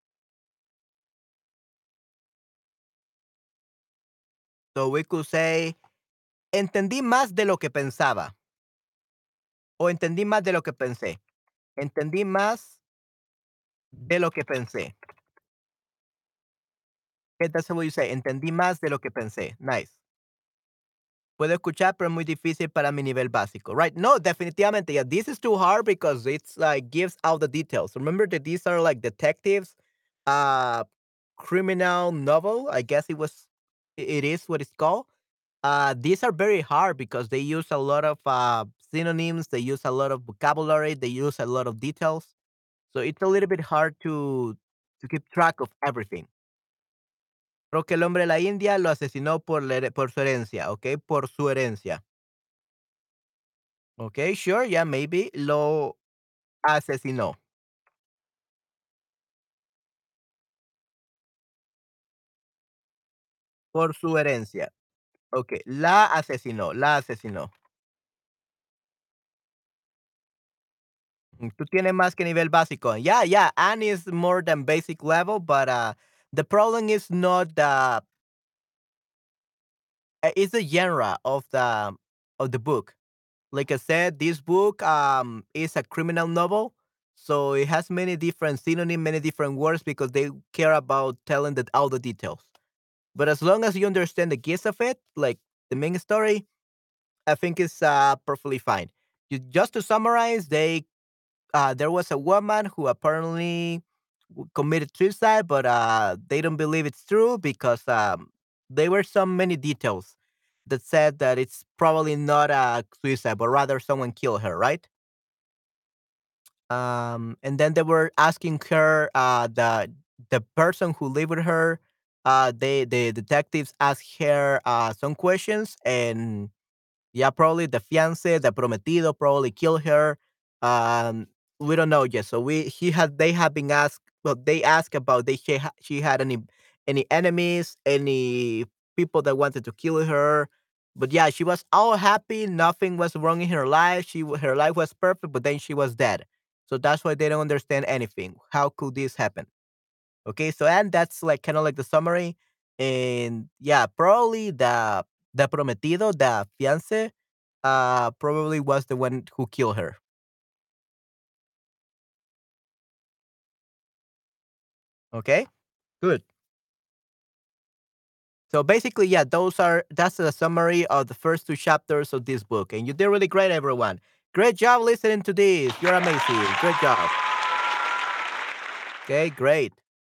So we could say, entendí más de lo que pensaba. O entendí más de lo que pensé. Entendí más de lo que pensé. Okay, that's what you say. Entendí más de lo que pensé. Nice. Puedo escuchar, pero es muy difícil para mi nivel básico. Right. No, definitivamente. Yeah, this is too hard because it's like gives out the details. Remember that these are like detectives, uh, criminal novel. I guess it was, it is what it's called. Uh, these are very hard because they use a lot of uh, synonyms. They use a lot of vocabulary. They use a lot of details. So it's a little bit hard to to keep track of everything. Creo que el hombre de la India lo asesinó por la here por su herencia, ¿okey? Por su herencia. Okey, sure, yeah, maybe. Lo asesinó por su herencia. Okey, la asesinó, la asesinó. Mm, tú tienes más que nivel básico. Yeah, yeah, Anne is more than basic level, but, uh, the problem is not the uh, it's the genre of the of the book. Like I said, this book um is a criminal novel, so it has many different synonyms, many different words because they care about telling the, all the details. But as long as you understand the gist of it, like the main story, I think it's uh, perfectly fine. You, just to summarize, they uh, there was a woman who apparently w- committed suicide, but uh, they don't believe it's true because um, there were so many details that said that it's probably not a suicide, but rather someone killed her, right? Um, and then they were asking her, uh, the the person who lived with her, uh, they the detectives asked her uh, some questions, and yeah, probably the fiance, the prometido, probably killed her. Um, we don't know yet. So we he had they have been asked. Well, they asked about they she, ha- she had any any enemies, any people that wanted to kill her. But yeah, she was all happy. Nothing was wrong in her life. She wa- her life was perfect. But then she was dead. So that's why they don't understand anything. How could this happen? Okay, so and that's like kind of like the summary. And yeah, probably the the prometido, the fiance, uh, probably was the one who killed her. Okay, good. So basically, yeah, those are that's the summary of the first two chapters of this book, and you did really great, everyone. Great job listening to this. You're amazing. Great job. Okay, great.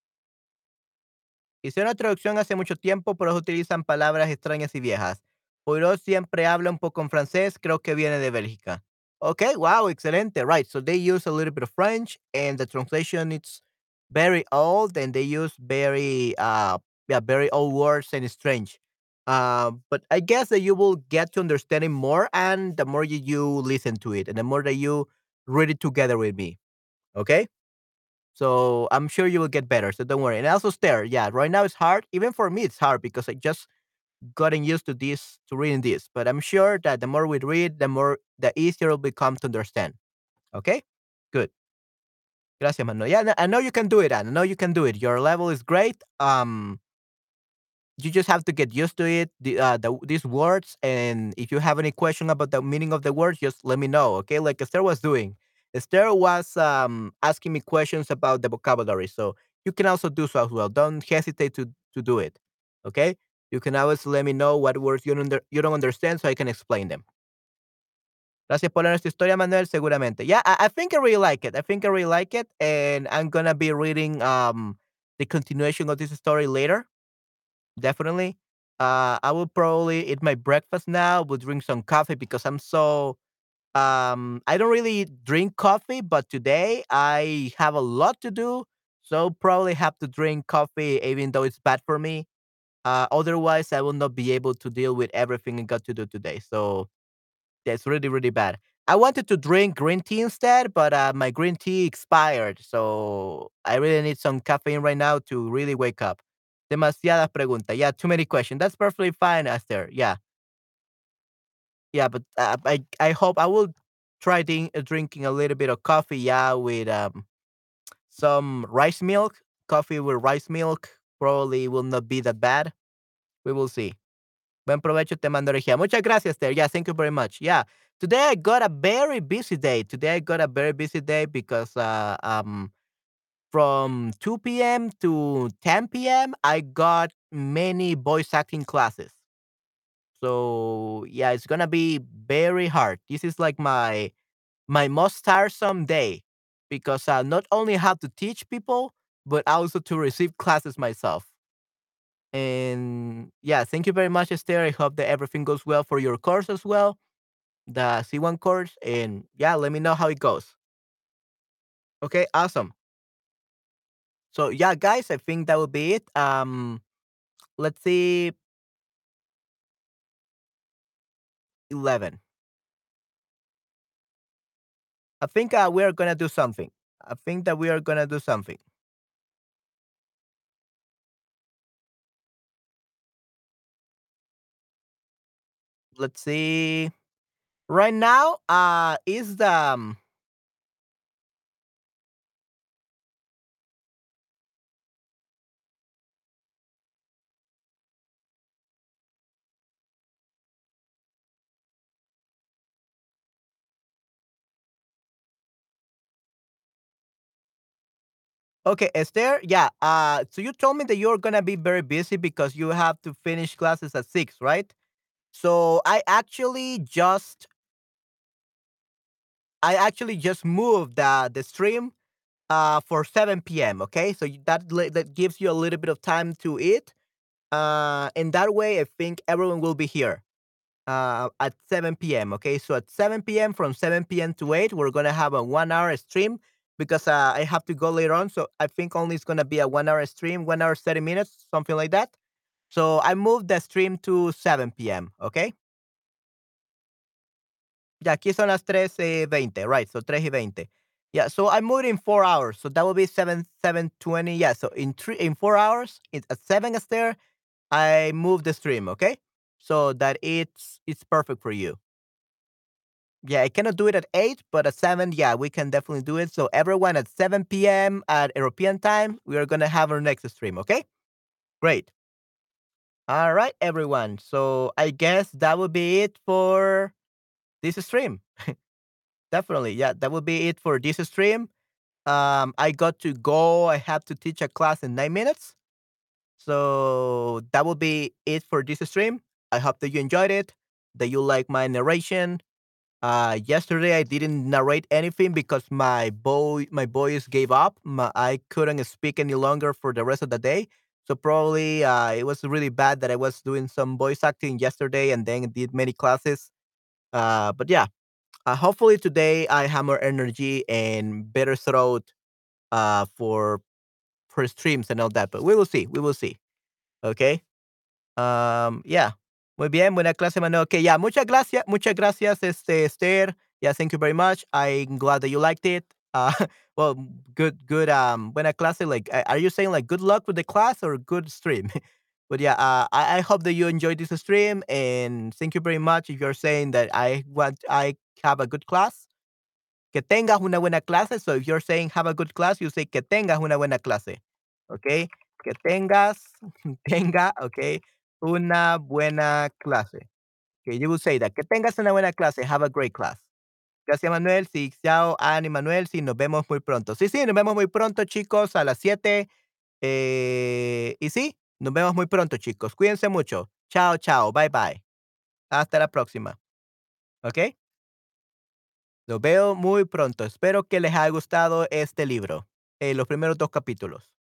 Hice una traducción hace mucho tiempo, pero utilizan palabras extrañas y viejas. Poirot siempre habla un poco en francés, creo que viene de Bélgica. Okay, wow, excelente. Right, so they use a little bit of French, and the translation it's very old, and they use very, uh, yeah, very old words and it's strange. Uh, but I guess that you will get to understand it more, and the more you, you listen to it, and the more that you read it together with me. Okay. So I'm sure you will get better. So don't worry. And also stare. Yeah, right now it's hard. Even for me, it's hard because I just gotten used to this, to reading this. But I'm sure that the more we read, the more the easier it'll become to understand. Okay? Good. Gracias, Manuel. Yeah, no- I know you can do it, Anne. I know you can do it. Your level is great. Um, you just have to get used to it, the, uh, the these words. And if you have any question about the meaning of the words, just let me know. Okay, like Esther was doing. Esther was um, asking me questions about the vocabulary, so you can also do so as well. Don't hesitate to to do it. Okay, you can always let me know what words you don't under, you don't understand, so I can explain them. Gracias por leer esta historia, Manuel. Seguramente. Yeah, I, I think I really like it. I think I really like it, and I'm gonna be reading um the continuation of this story later. Definitely. Uh, I will probably eat my breakfast now. Will drink some coffee because I'm so um I don't really drink coffee, but today I have a lot to do, so probably have to drink coffee even though it's bad for me. Uh, otherwise, I will not be able to deal with everything I got to do today. So that's really really bad. I wanted to drink green tea instead, but uh, my green tea expired, so I really need some caffeine right now to really wake up. Demasiadas preguntas. Yeah, too many questions. That's perfectly fine, Esther. Yeah, yeah, but uh, I I hope I will try din- uh, drinking a little bit of coffee. Yeah, with um some rice milk. Coffee with rice milk probably will not be that bad. We will see. Buen provecho, te mando energía. Muchas gracias, Ter. Yeah, thank you very much. Yeah, today I got a very busy day. Today I got a very busy day because uh, um from two p m to ten p m I got many voice acting classes. So yeah, it's gonna be very hard. This is like my my most tiresome day because I not only have to teach people but also to receive classes myself. And yeah, thank you very much, Esther. I hope that everything goes well for your course as well, the C one course. And yeah, let me know how it goes. Okay, awesome. So yeah, guys, I think that will be it. Um, let's see, eleven. I think uh, we are gonna do something. I think that we are gonna do something. Let's see. Right now, uh, is the um, okay, Esther. Yeah. Uh, so you told me that you're gonna be very busy because you have to finish classes at six, right? So I actually just I actually just moved the the stream uh for seven p m. Okay, so you- that li- that gives you a little bit of time to eat. Uh, in that way, I think everyone will be here uh at seven p m. Okay, so at seven p m from seven p m to eight, we're gonna have a one hour stream because uh, I have to go later on. So I think only it's gonna be a one hour stream, one hour thirty minutes, something like that. So I moved the stream to seven p m. Okay. Yeah, aquí son las tres y veinte, right? So tres y veinte. Yeah, so I moved in four hours. So that will be seven, seven twenty. Yeah, so in three, in four hours, it's at seven is there. I moved the stream, okay? So that it's it's perfect for you. Yeah, I cannot do it at eight, but at seven, yeah, we can definitely do it. So everyone at seven p m at European time, we are gonna have our next stream, okay? Great. All right, everyone. So I guess that would be it for this stream. Definitely. Yeah, that would be it for this stream. Um, I got to go. I have to teach a class in nine minutes. So that will be it for this stream. I hope that you enjoyed it, that you like my narration. Uh, yesterday I didn't narrate anything because my boy, my boys gave up. My, I couldn't speak any longer for the rest of the day. So probably uh, it was really bad that I was doing some voice acting yesterday and then did many classes. Uh, but yeah, uh, hopefully today I have more energy and better throat uh, for for streams and all that. But we will see. We will see. Okay. Um, yeah. Muy bien. Buena clase, Manuel. Okay. Yeah. Muchas gracias. Muchas gracias, este, Esther. Yeah. Thank you very much. I'm glad that you liked it. Uh, well, good, good, um, buena clase. Like, a- are you saying like good luck with the class or good stream? But yeah, uh, I, I hope that you enjoyed this stream and thank you very much. If you're saying that I want, I have a good class, que tengas una buena clase. So if you're saying have a good class, you say que tengas una buena clase. Okay, que tengas, tenga, okay, una buena clase. Okay, you will say that. Que tengas una buena clase. Have a great class. Gracias, Manuel. Sí, chao, Ani, Manuel. Sí, nos vemos muy pronto. Sí, sí, nos vemos muy pronto, chicos, a las siete. Eh, y sí, nos vemos muy pronto, chicos. Cuídense mucho. Chao, chao. Bye, bye. Hasta la próxima. ¿Ok? Los veo muy pronto. Espero que les haya gustado este libro. Eh, los primeros dos capítulos.